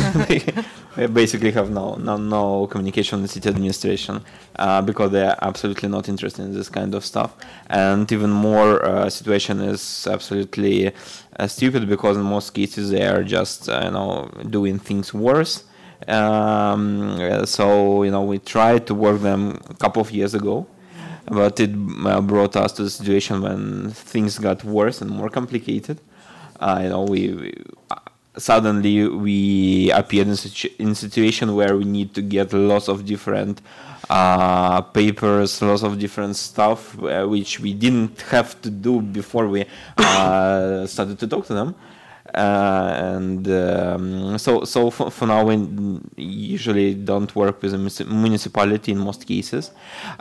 we basically have no, no, no communication with the city administration uh, because they are absolutely not interested in this kind of stuff. And even more, uh, situation is absolutely uh, stupid, because in most cases they are just uh, you know doing things worse. Um, so you know we tried to work them a couple of years ago, but it uh, brought us to the situation when things got worse and more complicated. Uh, you know we. we Suddenly, we appeared in situ in a situation where we need to get lots of different uh, papers, lots of different stuff, uh, which we didn't have to do before we uh, started to talk to them. Uh, and um, so, so for, for now, we usually don't work with the municipality in most cases.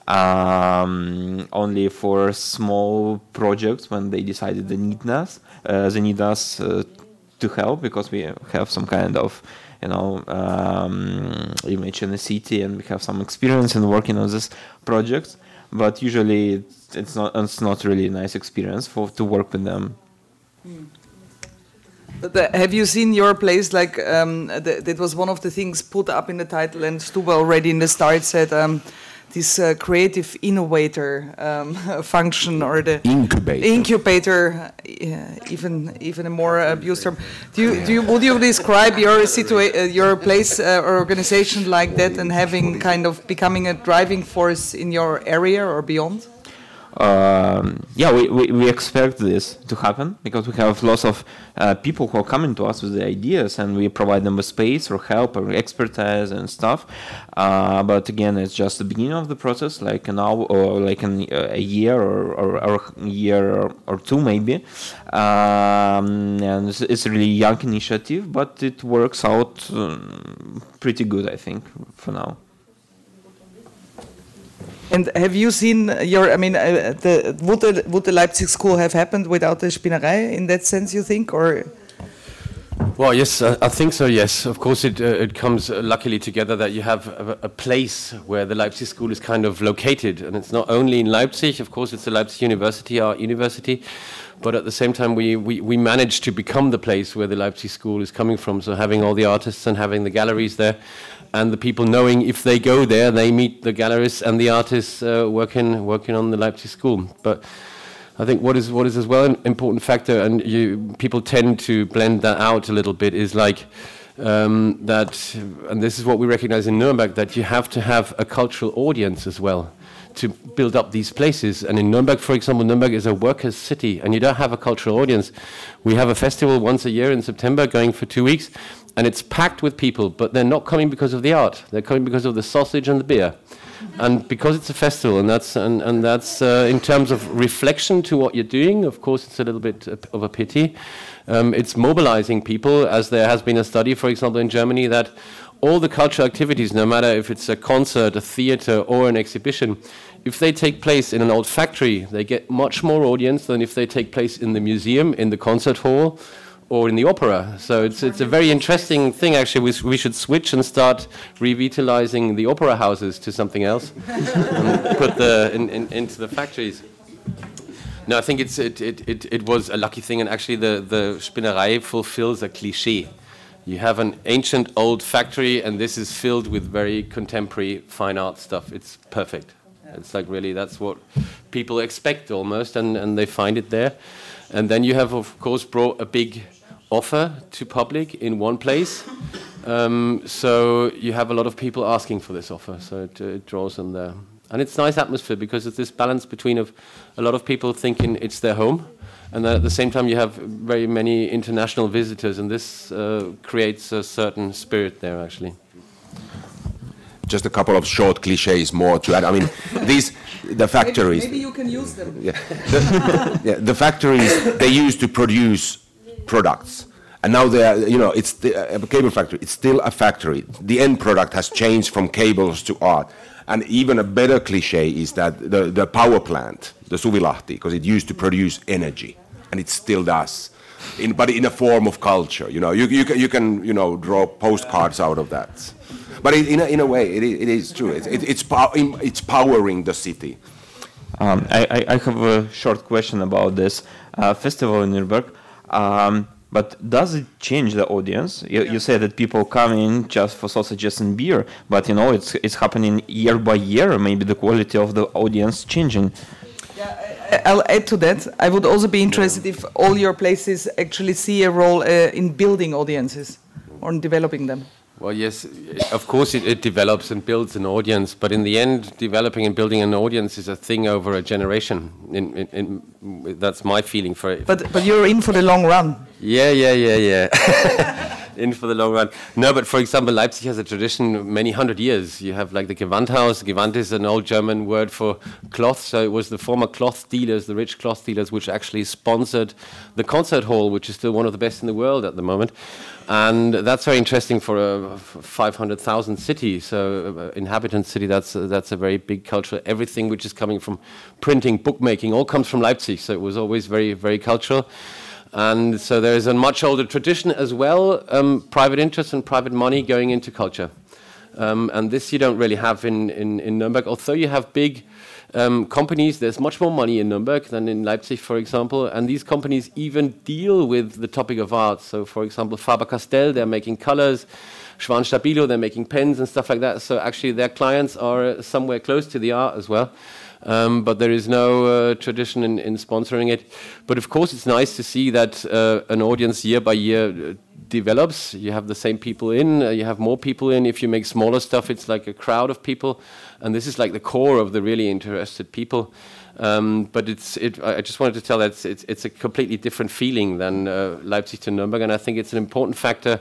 Um, only for small projects when they decided they need us, uh, they need us. Uh, to help, because we have some kind of, you know, um, image in the city, and we have some experience in working on this project. But usually, it's, it's not it's not really a nice experience for to work with them. Mm. But uh, have you seen your place? Like um, th that was one of the things put up in the title, and Stuba already in the start said. Um, This uh, creative innovator um, function, or the incubator, incubator, uh, even even a more abused term. Do you, yeah. do you would you describe your situa uh, your place uh, or organization like that, and having kind of becoming a driving force in your area or beyond? Um, yeah, we, we, we expect this to happen, because we have lots of uh, people who are coming to us with the ideas, and we provide them with space or help or expertise and stuff. Uh, but again, it's just the beginning of the process, like an hour or like an, uh, a year or, or, or a year or, or two maybe. Um, and it's, it's a really young initiative, but it works out um, pretty good, I think, for now. And have you seen your, I mean, uh, the, would, the, would the Leipzig School have happened without the Spinnerei in that sense, you think, or? Well, yes, uh, I think so, yes. Of course, it, uh, it comes uh, luckily together that you have a, a place where the Leipzig School is kind of located. And it's not only in Leipzig, of course, it's the Leipzig University, our university. But at the same time, we, we, we managed to become the place where the Leipzig School is coming from. So having all the artists and having the galleries there, and the people knowing if they go there, they meet the gallerists and the artists uh, working working on the Leipzig School. But I think what is what is as well an important factor, and you people tend to blend that out a little bit, is like um, that, and this is what we recognize in Nuremberg, that you have to have a cultural audience as well to build up these places. And in Nuremberg, for example, Nuremberg is a workers' city, and you don't have a cultural audience. We have a festival once a year in September, going for two weeks. And it's packed with people, but they're not coming because of the art. They're coming because of the sausage and the beer. And because it's a festival, and that's, and, and that's uh, in terms of reflection to what you're doing, of course, it's a little bit of a pity. Um, it's mobilizing people, as there has been a study, for example, in Germany, that all the cultural activities, no matter if it's a concert, a theater, or an exhibition, if they take place in an old factory, they get much more audience than if they take place in the museum, in the concert hall, or in the opera. So it's it's a very interesting thing, actually. We, we should switch and start revitalizing the opera houses to something else and put the in, in, into the factories. No, I think it's it, it, it, it was a lucky thing, and actually the, the Spinnerei fulfills a cliché. You have an ancient old factory, and this is filled with very contemporary fine art stuff. It's perfect. It's like really, that's what people expect almost, and, and they find it there. And then you have, of course, brought a big offer to public in one place. Um, so you have a lot of people asking for this offer, so it, it draws them there. And it's nice atmosphere, because it's this balance between of a lot of people thinking it's their home, and then at the same time you have very many international visitors, and this uh, creates a certain spirit there, actually. just a couple of short cliches more to add. I mean, these the factories. Maybe, maybe you can use them. Yeah, the, yeah, the factories they used to produce products, and now they are. You know, it's the, a cable factory. It's still a factory. The end product has changed from cables to art. And even a better cliche is that the, the power plant, the Suvilahti, because it used to produce energy, and it still does, in, but in a form of culture. You know, you, you, can, you can you know draw postcards out of that. But it, in, a, in a way, it, it is true. It, it, it's, pow it's powering the city. Um, I, I have a short question about this uh, festival in Nuremberg. Um, But does it change the audience? You, yeah. you say that people come in just for sausages and beer, but you know it's it's happening year by year. Maybe the quality of the audience changing. Yeah, I, I'll add to that. I would also be interested if all your places actually see a role uh, in building audiences or in developing them. Well, yes, of course it, it develops and builds an audience, but in the end, developing and building an audience is a thing over a generation. In, in, in, that's my feeling for it. But but you're in for the long run. Yeah, yeah, yeah, yeah. In for the long run. No, but for example, Leipzig has a tradition many hundred years. You have like the Gewandhaus. Gewand is an old German word for cloth. So it was the former cloth dealers, the rich cloth dealers, which actually sponsored the concert hall, which is still one of the best in the world at the moment. And that's very interesting for a five hundred thousand city, so uh, inhabitant city. That's uh, that's a very big culture. Everything which is coming from printing, bookmaking, all comes from Leipzig. So it was always very, very cultural. And so there is a much older tradition as well, um, private interest and private money going into culture. Um, and this you don't really have in, in, in Nuremberg. Although you have big um, companies, there's much more money in Nuremberg than in Leipzig, for example. And these companies even deal with the topic of art. So, for example, Faber-Castell, they're making colors. Schwan Stabilo, they're making pens and stuff like that. So actually their clients are somewhere close to the art as well. Um, but there is no uh, tradition in, in sponsoring it. But of course, it's nice to see that uh, an audience year by year uh, develops. You have the same people in, uh, you have more people in. If you make smaller stuff, it's like a crowd of people. And this is like the core of the really interested people. Um, but it's, it, I just wanted to tell that it's, it's, it's a completely different feeling than uh, Leipzig to Nuremberg. And I think it's an important factor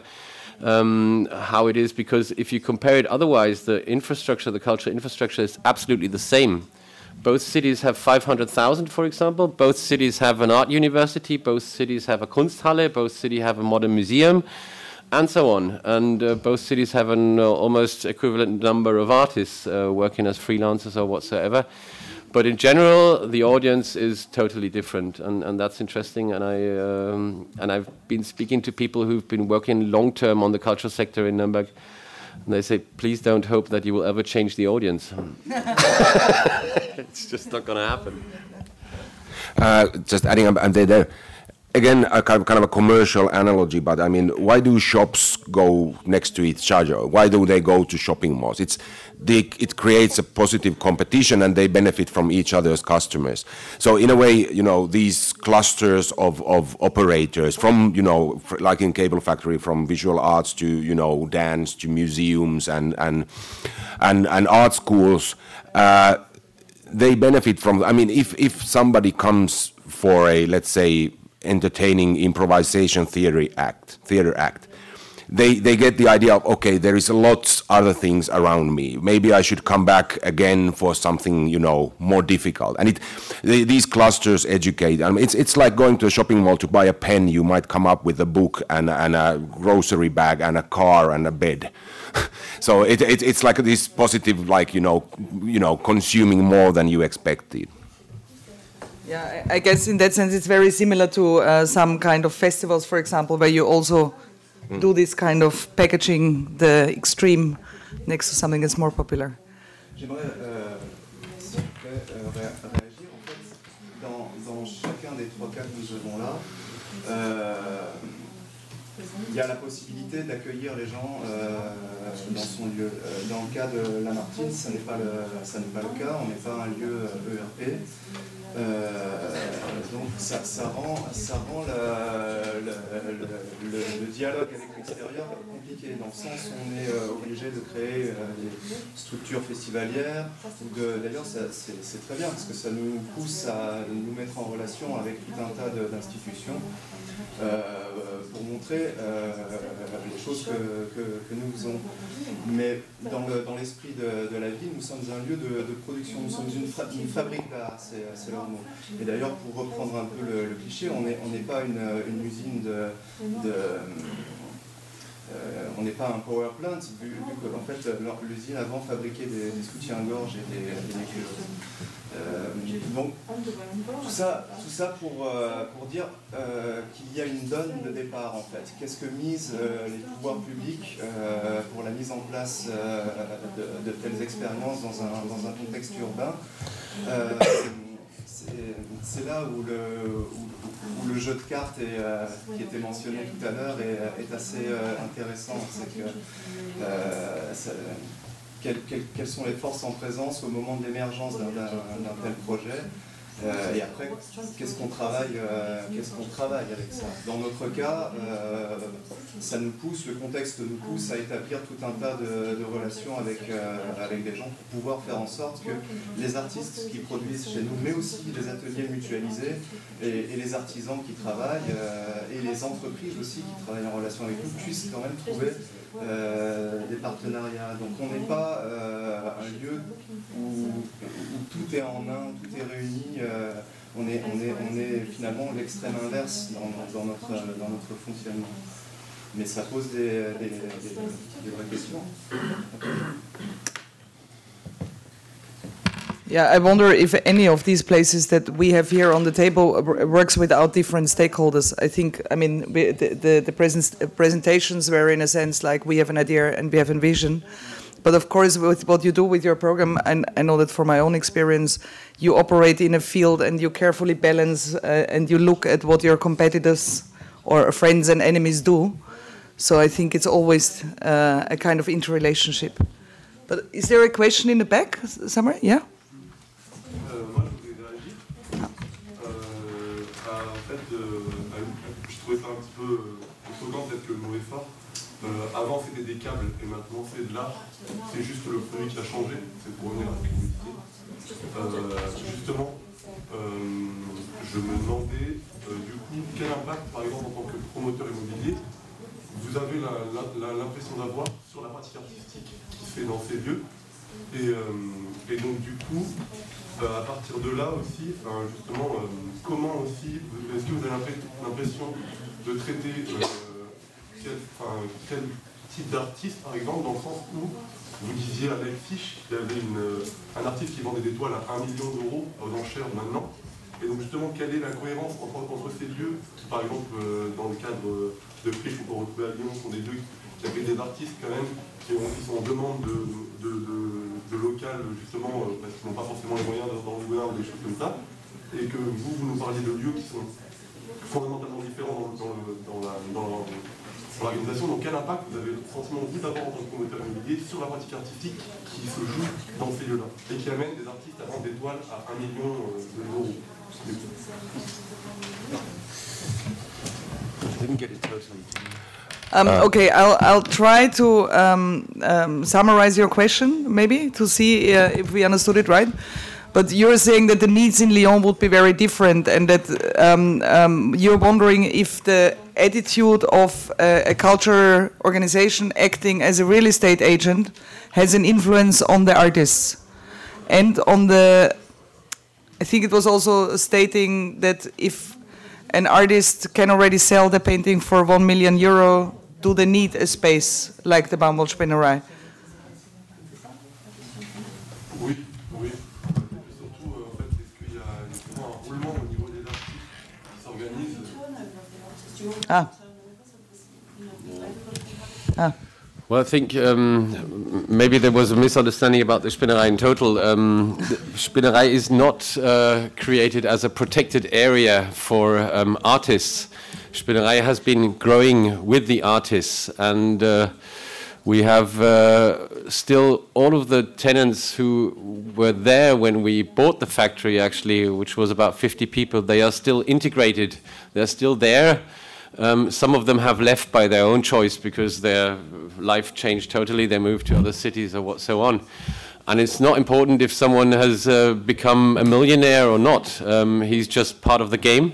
um, how it is, because if you compare it otherwise, the infrastructure, the cultural infrastructure is absolutely the same. Both cities have five hundred thousand, for example. Both cities have an art university. Both cities have a Kunsthalle. Both cities have a modern museum, and so on. And uh, both cities have an uh, almost equivalent number of artists uh, working as freelancers or whatsoever. But in general, the audience is totally different, and, and that's interesting. And I um, and I've been speaking to people who've been working long term on the cultural sector in Nuremberg. And they say, please don't hope that you will ever change the audience. It's just not going to happen. Uh, just adding up, and there, again, a kind of, kind of a commercial analogy, but I mean, why do shops go next to each other? Why do they go to shopping malls? It's they, it creates a positive competition, and they benefit from each other's customers. So in a way, you know, these clusters of, of operators from, you know, like in Cable Factory, from visual arts to, you know, dance to museums and and and, and art schools, uh, they benefit from. I mean, if if somebody comes for a, let's say, entertaining improvisation theater act, theater act. They they get the idea of, okay, there is a lot other things around me. Maybe I should come back again for something, you know, more difficult. And it they, these clusters educate. I mean, it's it's like going to a shopping mall to buy a pen. You might come up with a book and and a grocery bag and a car and a bed. So it, it it's like this positive, like you know, you know, consuming more than you expected. Yeah, I guess in that sense it's very similar to uh, some kind of festivals, for example, where you also mm. do this kind of packaging the extreme next to something that's more popular. J'aimerais euh, s'il vous plaît, euh, ré réagir. En fait, dans, dans chacun des trois cas que nous avons là, euh, il y a la possibilité d'accueillir les gens euh, dans son lieu. Euh, dans le cas de Lamartine, ça n'est pas le, ça n'est pas le cas. On n'est pas un lieu E R P. Euh, donc ça, ça rend, ça rend la, la, le, le, le dialogue avec l'extérieur compliqué, dans le sens où on est euh, obligé de créer euh, des structures festivalières. D'ailleurs, c'est très bien, parce que ça nous pousse à nous mettre en relation avec tout un tas d'institutions euh, pour montrer euh, les choses que, que, que nous faisons. Mais dans l'esprit le, dans de, de la ville, nous sommes un lieu de, de production, nous sommes une, fa une fabrique d'art, c'est leur mot. Et d'ailleurs, pour reprendre un peu le, le cliché, on n'est on n'est pas une, une usine de... de euh, on n'est pas un power plant, vu, vu que en fait, l'usine avant fabriquait des, des soutiens-gorge et des, des culottes. Euh, donc, tout ça, tout ça pour, euh, pour dire euh, qu'il y a une donne de départ en fait. Qu'est-ce que misent euh, les pouvoirs publics euh, pour la mise en place euh, de, de telles expériences dans un, dans un contexte urbain. euh, C'est là où le, où, où le jeu de cartes est, euh, qui était mentionné tout à l'heure est, est assez euh, intéressant. C'est que euh, ça, quelles, quelles, quelles sont les forces en présence au moment de l'émergence d'un tel projet, euh, et après qu'est-ce qu'on travaille, euh, qu'est-ce qu'on travaille avec ça. Dans notre cas, euh, ça nous pousse, le contexte nous pousse à établir tout un tas de, de relations avec, euh, avec des gens pour pouvoir faire en sorte que les artistes qui produisent chez nous, mais aussi les ateliers mutualisés et, et les artisans qui travaillent, euh, et les entreprises aussi qui travaillent en relation avec nous, puissent quand même trouver Euh, des partenariats. Donc on n'est pas euh, un lieu où, où tout est en un, tout est réuni. Euh, on, est, on, est, on est finalement l'extrême inverse dans, dans, notre, dans notre fonctionnement. Mais ça pose des, des, des, des vraies questions. Yeah, I wonder if any of these places that we have here on the table works without different stakeholders. I think, I mean, we, the, the, the present, presentations were in a sense like we have an idea and we have a vision. But of course, with what you do with your program, and I know that from my own experience, you operate in a field and you carefully balance uh, and you look at what your competitors or friends and enemies do. So I think it's always uh, a kind of interrelationship. But is there a question in the back somewhere? Yeah? Euh, moi, je voulais réagir. Euh, à, en fait, euh, à, je trouvais ça un petit peu étonnant, peut-être que le mot est fort. Euh, avant, c'était des câbles et maintenant, c'est de l'art. C'est juste le produit qui a changé. C'est pour revenir à ce que vous disiez. Euh, justement, euh, je me demandais, euh, du coup, quel impact, par exemple, en tant que promoteur immobilier, vous avez l'impression d'avoir sur la pratique artistique qui se fait dans ces lieux. Et, euh, et donc, du coup, Euh, à partir de là aussi, enfin, justement, euh, comment aussi, est-ce que vous avez l'impression de traiter euh, quel, enfin, quel type d'artiste, par exemple, dans le sens où vous disiez avec Fish qu'il y avait une, un artiste qui vendait des toiles à un million d'euros aux enchères maintenant. Et donc justement, quelle est la cohérence entre, entre ces lieux, par exemple, euh, dans le cadre de Friche qu'on peut retrouver à Lyon, sont des lieux qui avaient des artistes quand même qui, ont, qui sont en demande de, de, de, de local, justement, euh, parce qu'ils n'ont pas forcément les moyens d'embaucher ou des choses comme ça, et que vous, vous nous parliez de lieux qui sont fondamentalement différents dans, dans, la, dans, dans l'organisation. Donc quel impact vous avez le sentiment vous d'avoir en tant que promoteur immobilier sur la pratique artistique qui se joue dans ces lieux-là, et qui amène des artistes à vendre des toiles à un million d'euros? Didn't get it totally. Um, Uh, okay, I'll, I'll try to um, um, summarize your question, maybe, to see uh, if we understood it right. But you're saying that the needs in Lyon would be very different, and that um, um, you're wondering if the attitude of uh, a culture organization acting as a real estate agent has an influence on the artists. And on the, I think it was also stating that if an artist can already sell the painting for one million euro, do they need a space like the Baumwollspinnerei? Oui, oui. Et surtout, euh, en fait, est-ce qu'il y a justement un roulement au niveau des artistes qui s'organisent? Ah. Ah. Well, I think um, maybe there was a misunderstanding about the Spinnerei in total. Um, the Spinnerei is not uh, created as a protected area for um, artists. Spinnerei has been growing with the artists, and uh, We have uh, still all of the tenants who were there when we bought the factory, actually, which was about fifty people. They are still integrated. They're still there. Um, some of them have left by their own choice because their life changed totally. They moved to other cities or what so on. And it's not important if someone has uh, become a millionaire or not. Um, he's just part of the game.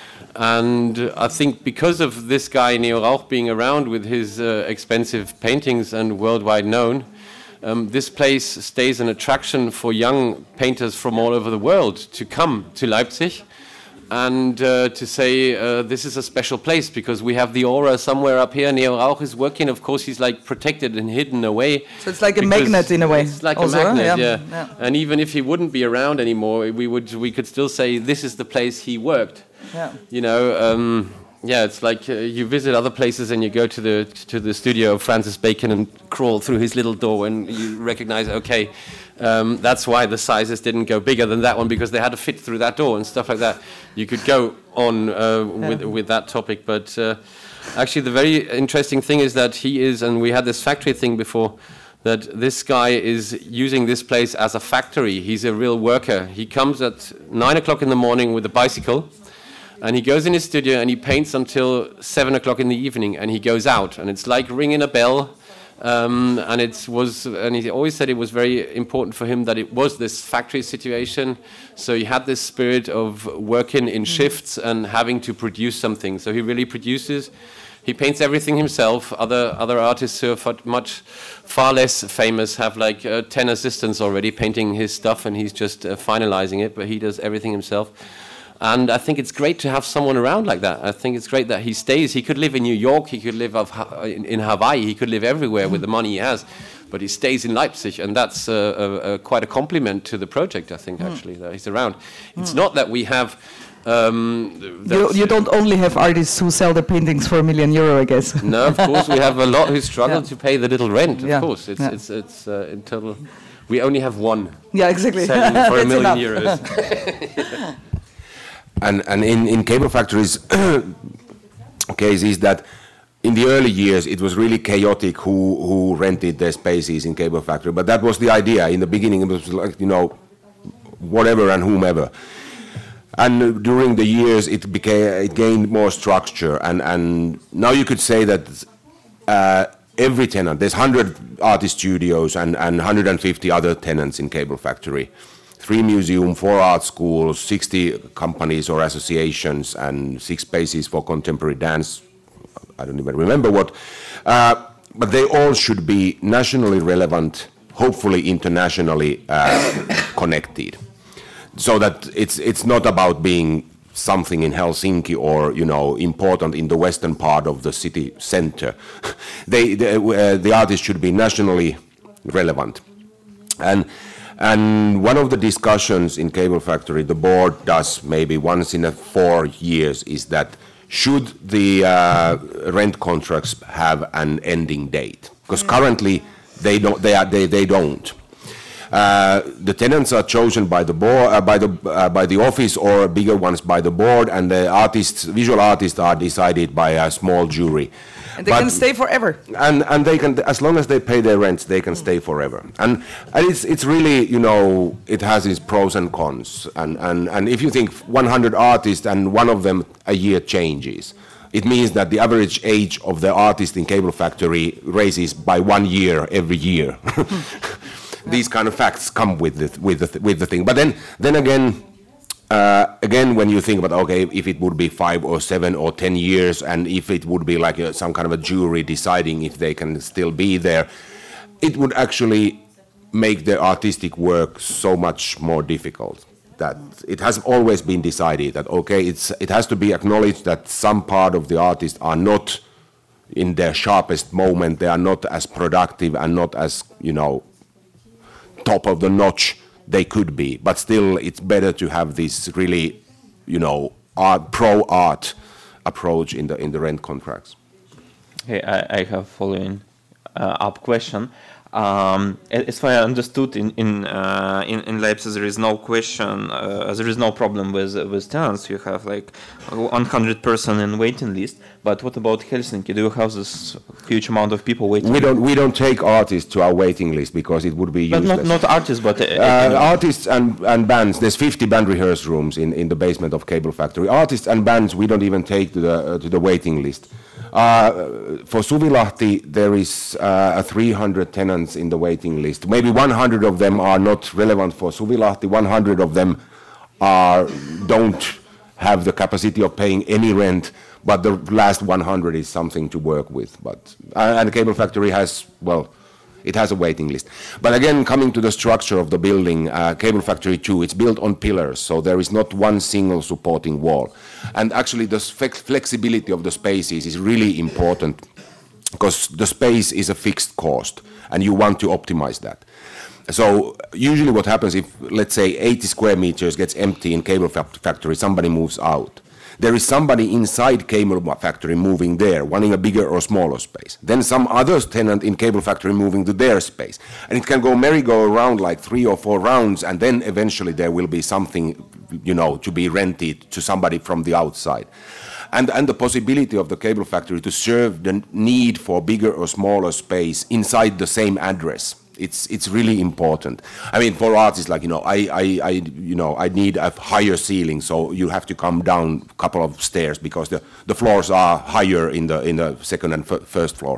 And I think because of this guy, Neo Rauch, being around with his uh, expensive paintings and worldwide known, um, this place stays an attraction for young painters from all over the world to come to Leipzig and uh, to say uh, this is a special place because we have the aura somewhere up here. Neo Rauch is working. Of course, he's like protected and hidden away. So it's like a magnet in a way. It's like also, a magnet, yeah. yeah. Yeah. And even if he wouldn't be around anymore, we would we could still say this is the place he worked. Yeah. You know, um, yeah, it's like uh, you visit other places and you go to the to the studio of Francis Bacon and crawl through his little door and you recognize, okay, um, that's why the sizes didn't go bigger than that one because they had to fit through that door and stuff like that. You could go on uh, yeah. with with that topic, but uh, actually the very interesting thing is that he is, and we had this factory thing before, that this guy is using this place as a factory. He's a real worker. He comes at nine o'clock in the morning with a bicycle, and he goes in his studio and he paints until seven o'clock in the evening, and he goes out. And it's like ringing a bell. Um, and it was, and he always said it was very important for him that it was this factory situation. So he had this spirit of working in shifts and having to produce something. So he really produces. He paints everything himself. Other other artists who are far, much far less famous have like uh, ten assistants already painting his stuff, and he's just uh, finalizing it. But he does everything himself. And I think it's great to have someone around like that. I think it's great that he stays. He could live in New York. He could live of, in, in Hawaii. He could live everywhere with the money he has. But he stays in Leipzig, and that's uh, a, a, quite a compliment to the project, I think, actually, that he's around. It's not that we have... Um, you, you don't only have artists who sell their paintings for a million euro, I guess. No, of course, we have a lot who struggle Yeah. to pay the little rent, of Yeah. course. It's, Yeah. it's, it's uh, in total... We only have one Yeah, exactly. selling for a That's million enough. euros. And and in, in cable factories case is that in the early years it was really chaotic who who rented their spaces in cable factory, but that was the idea in the beginning. It was like, you know, whatever and whomever. And during the years it became it gained more structure, and and now you could say that uh, every tenant, there's one hundred artist studios and and one hundred fifty other tenants in cable factory. Three museum, four art schools, sixty companies or associations, and six spaces for contemporary dance. I don't even remember what. Uh, but they all should be nationally relevant, hopefully internationally uh, connected. So that it's it's not about being something in Helsinki or, you know, important in the western part of the city center. they, they uh, the artists should be nationally relevant. And And one of the discussions in Cable Factory, the board does maybe once in a four years, is that should the uh, rent contracts have an ending date? Because currently they don't. They are. They, they don't. Uh, the tenants are chosen by the board, uh, by the uh, by the office, or bigger ones by the board, and the artists, visual artists, are decided by a small jury. And they But- can stay forever. And and they can, as long as they pay their rents, they can stay forever. And and it's it's really, you know, it has its pros and cons. And and and if you think one hundred artists and one of them a year changes, it means that the average age of the artist in Cable Factory raises by one year every year. These kind of facts come with the with the with the thing. But then then again. Uh, again, when you think about, okay, if it would be five or seven or ten years, and if it would be like a, some kind of a jury deciding if they can still be there, it would actually make the artistic work so much more difficult. That it has always been decided that, okay, it's it has to be acknowledged that some part of the artists are not in their sharpest moment, they are not as productive and not as, you know, top of the notch they could be, but still it's better to have this really, you know, art, pro-art approach in the in the rent contracts. Okay, I, I have following uh, up question. Um, as far as I understood, in in, uh, in in Leipzig there is no question, uh, there is no problem with with tenants. You have like one hundred person in waiting list. But what about Helsinki? Do you have this huge amount of people waiting? We don't we don't take artists to our waiting list because it would be but useless. not not artists, but uh, uh, artists and and bands. There's fifty band rehearse rooms in in the basement of Cable Factory. Artists and bands we don't even take to the uh, to the waiting list. Uh, for Suvilahti, there is uh, a three hundred tenants in the waiting list. Maybe one hundred of them are not relevant for Suvilahti. one hundred of them are don't have the capacity of paying any rent, but the last one hundred is something to work with. But uh, and the Cable Factory has, well, it has a waiting list. But again, coming to the structure of the building, uh, Cable Factory two, it's built on pillars, so there is not one single supporting wall. And actually the flex flexibility of the spaces is really important because the space is a fixed cost and you want to optimize that. So usually what happens if, let's say, eighty square meters gets empty in Cable Factory, somebody moves out. There is somebody inside Cable Factory moving there, wanting a bigger or smaller space. Then some other tenant in Cable Factory moving to their space. And it can go merry-go-round like three or four rounds, and then eventually there will be something, you know, to be rented to somebody from the outside. And, and the possibility of the Cable Factory to serve the need for bigger or smaller space inside the same address. It's it's really important. I mean, for artists, like, you know, I, I, I you know I need a higher ceiling, so you have to come down a couple of stairs because the, the floors are higher in the in the second and f first floor,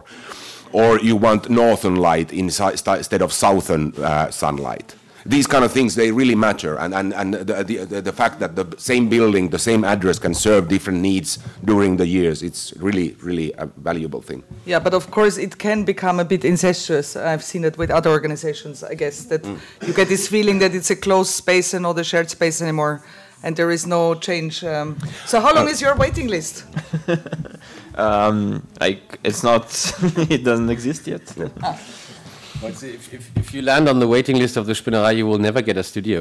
or you want northern light instead of southern uh, sunlight. These kind of things, they really matter, and and and the, the the fact that the same building, the same address can serve different needs during the years, it's really really a valuable thing. Yeah, but of course it can become a bit incestuous. I've seen it with other organizations, I guess, that mm. you get this feeling that it's a closed space and not a shared space anymore, and there is no change. Um, so how long uh, is your waiting list? um, like it's not, it doesn't exist yet. Ah. Well, see, if, if, if you land on the waiting list of the Spinnerei, you will never get a studio.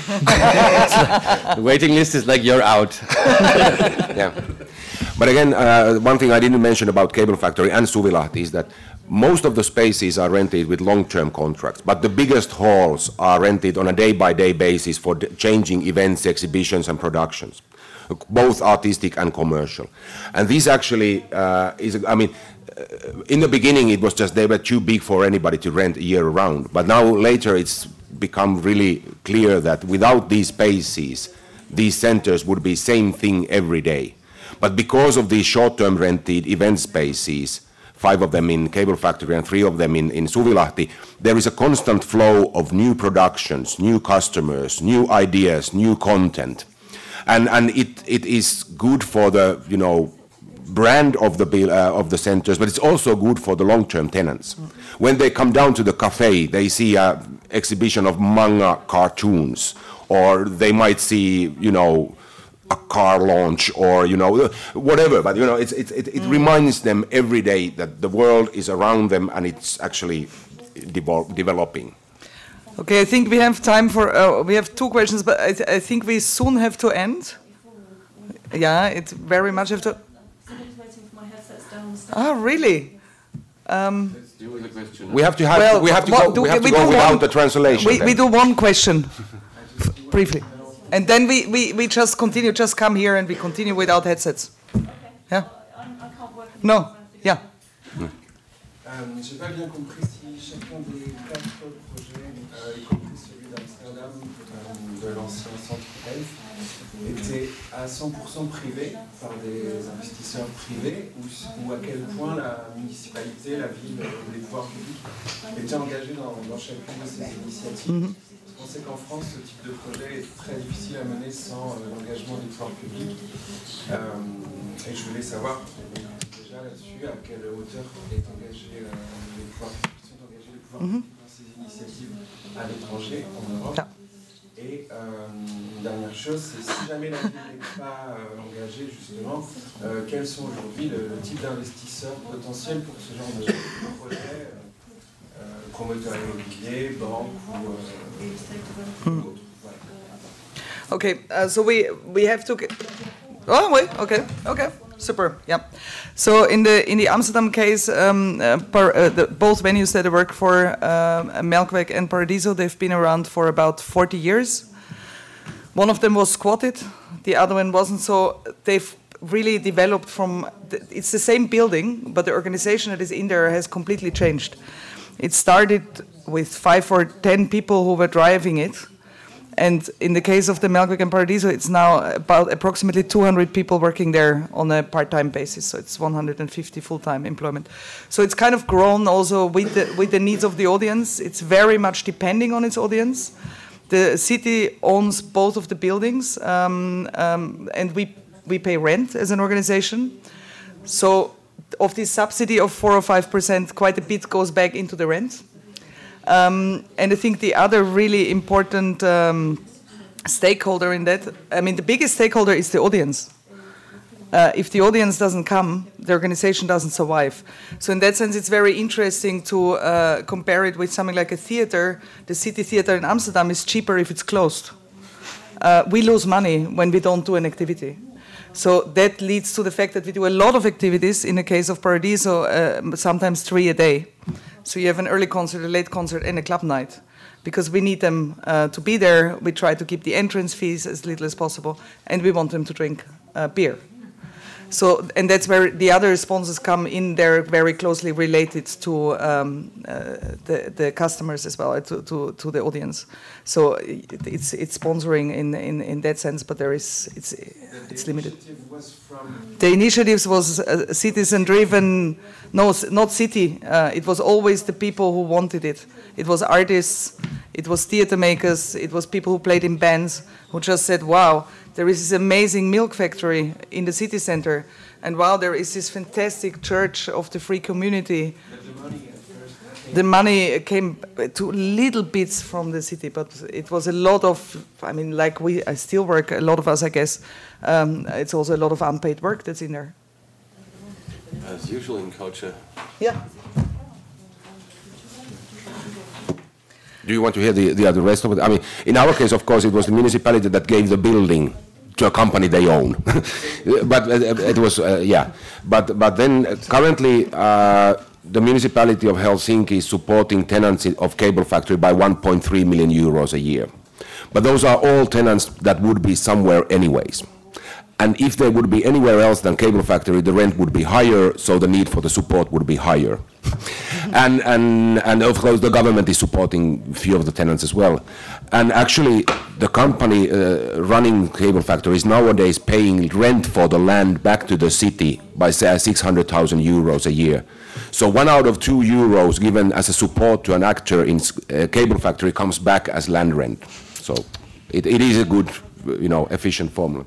The waiting list is like you're out. Yeah. But again, uh, one thing I didn't mention about Cable Factory and Suvilahti is that most of the spaces are rented with long-term contracts, but the biggest halls are rented on a day-by-day basis for changing events, exhibitions, and productions, both artistic and commercial. And this actually uh, is, I mean, in the beginning it was just they were too big for anybody to rent year round, but now later it's become really clear that without these spaces these centers would be same thing every day. But because of these short-term rented event spaces, five of them in Cable Factory and three of them in, in Suvilahti, there is a constant flow of new productions, new customers, new ideas, new content, and and it it is good for the, you know, brand of the uh, of the centers, but it's also good for the long-term tenants. Mm. When they come down to the cafe, they see an exhibition of manga cartoons, or they might see, you know, a car launch, or, you know, whatever. But, you know, it's, it's, it, it mm. reminds them every day that the world is around them and it's actually devo- developing. Okay, I think we have time for, uh, we have two questions, but I, th- I think we soon have to end. Yeah, it very much have to. Ah, really? Um, we have to have. Well, we have to what, go, do, we have we to go without one, the translation. We, we do one question, briefly, and then we, we, we just continue. Just come here and we continue without headsets. Okay. Yeah. I, I can't work. No. Yeah. Euh, J'ai pas bien compris si chacun des quatre projets, euh, y compris celui d'Amsterdam, euh, de l'ancien centre Elf, était à cent pour cent privé par des investisseurs privés, ou, ou à quel point la municipalité, la ville, les pouvoirs publics étaient engagés dans, dans chacune de ces initiatives. Mm-hmm. On sait qu'en France, ce type de projet est très difficile à mener sans euh, l'engagement des pouvoirs publics. Euh, et je voulais savoir déjà là-dessus à quelle hauteur est engagé, euh, les pouvoirs publics sont engagés les pouvoirs mm-hmm. publics dans ces initiatives à l'étranger, en Europe. Ah. Et euh, une dernière chose, c'est si jamais la ville n'est pas euh, engagée, justement, euh, quels sont aujourd'hui le, le type d'investisseurs potentiels pour ce genre de projet, euh, promoteurs immobiliers, banques ou, euh, hmm. ou autres. Voilà. Okay, uh, so we we have to. Get... Oh wait, okay, okay. Super. Yeah. So in the in the Amsterdam case, um, uh, par, uh, the, both venues that I work for, uh, Melkweg and Paradiso, they've been around for about forty years. One of them was squatted, the other one wasn't. So they've really developed from. The, it's the same building, but the organization that is in there has completely changed. It started with five or ten people who were driving it. And in the case of the Melkweg and Paradiso, it's now about approximately two hundred people working there on a part-time basis. So it's one hundred fifty full-time employment. So it's kind of grown also with the, with the needs of the audience. It's very much depending on its audience. The city owns both of the buildings, um, um, and we, we pay rent as an organization. So of this subsidy of four or five percent, quite a bit goes back into the rent. Um, and I think the other really important um, stakeholder in that, I mean, the biggest stakeholder is the audience. Uh, if the audience doesn't come, the organization doesn't survive. So in that sense, it's very interesting to uh, compare it with something like a theater. The City Theater in Amsterdam is cheaper if it's closed. Uh, we lose money when we don't do an activity. So that leads to the fact that we do a lot of activities. In the case of Paradiso, uh, sometimes three a day. So you have an early concert, a late concert, and a club night. Because we need them uh, to be there, we try to keep the entrance fees as little as possible, and we want them to drink uh, beer. So, and that's where the other sponsors come in. They're very closely related to um, uh, the, the customers as well, to, to, to the audience. So it's it's sponsoring in, in, in that sense, but there is it's it's limited. Was from the initiatives was uh, citizen-driven. No, not city. Uh, it was always the people who wanted it. It was artists, it was theater makers, it was people who played in bands who just said, wow, there is this amazing milk factory in the city center, and wow, there is this fantastic church of the free community. The money came to little bits from the city, but it was a lot of, I mean, like we, I still work, a lot of us, I guess, um, it's also a lot of unpaid work that's in there. As usual in culture. Yeah. Do you want to hear the, the, the rest of it? I mean, in our case, of course, it was the municipality that gave the building to a company they own. But uh, it was, uh, yeah. But, but then uh, currently, uh, the municipality of Helsinki is supporting tenants of Cable Factory by one point three million euros a year. But those are all tenants that would be somewhere anyways. And if they would be anywhere else than Cable Factory, the rent would be higher, so the need for the support would be higher. and, and, and of course, the government is supporting a few of the tenants as well. And actually, the company uh, running Cable Factory is nowadays paying rent for the land back to the city by, say, six hundred thousand euros a year. So one out of two euros given as a support to an actor in uh, Cable Factory comes back as land rent. So it, it is a good, you know, efficient formula.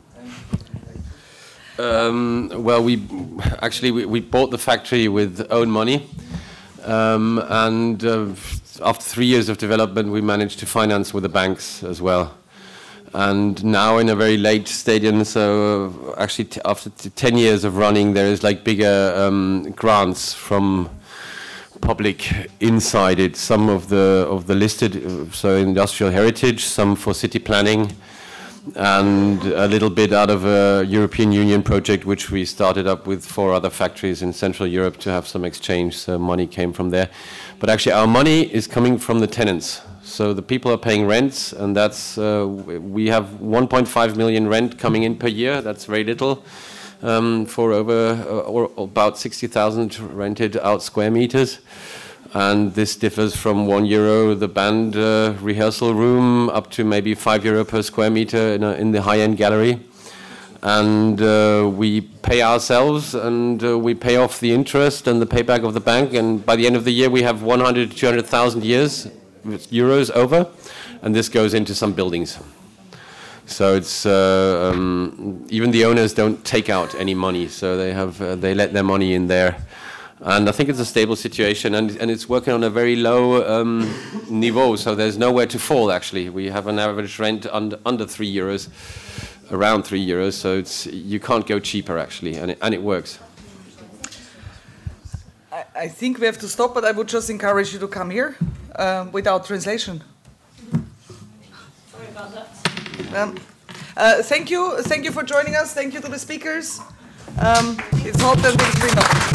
Um, well, we actually we, we bought the factory with own money, um, and uh, after three years of development, we managed to finance with the banks as well. And now in a very late stadium, so uh, actually t after t ten years of running, there is like bigger um, grants from public inside it. Some of the of the listed, uh, so industrial heritage, some for city planning, and a little bit out of a European Union project which we started up with four other factories in Central Europe to have some exchange, so money came from there. But actually our money is coming from the tenants. So the people are paying rents, and that's, uh, we have one point five million rent coming in per year. That's very little um, for over, uh, or about sixty thousand rented out square meters. And this differs from one euro the band uh, rehearsal room up to maybe five euro per square meter in, a, in the high-end gallery. And uh, we pay ourselves, and uh, we pay off the interest and the payback of the bank. And by the end of the year, we have one hundred, two hundred thousand years euros over, and this goes into some buildings. So it's uh, um, even the owners don't take out any money, so they have uh, they let their money in there. And I think it's a stable situation, and, and it's working on a very low um, niveau, so there's nowhere to fall, actually. We have an average rent under, under three euros, around three euros, so it's, you can't go cheaper, actually, and it, and it works. I, I think we have to stop, but I would just encourage you to come here uh, without translation. Sorry about that. Um, uh, thank you, thank you for joining us, thank you to the speakers. Um, it's hot and it's been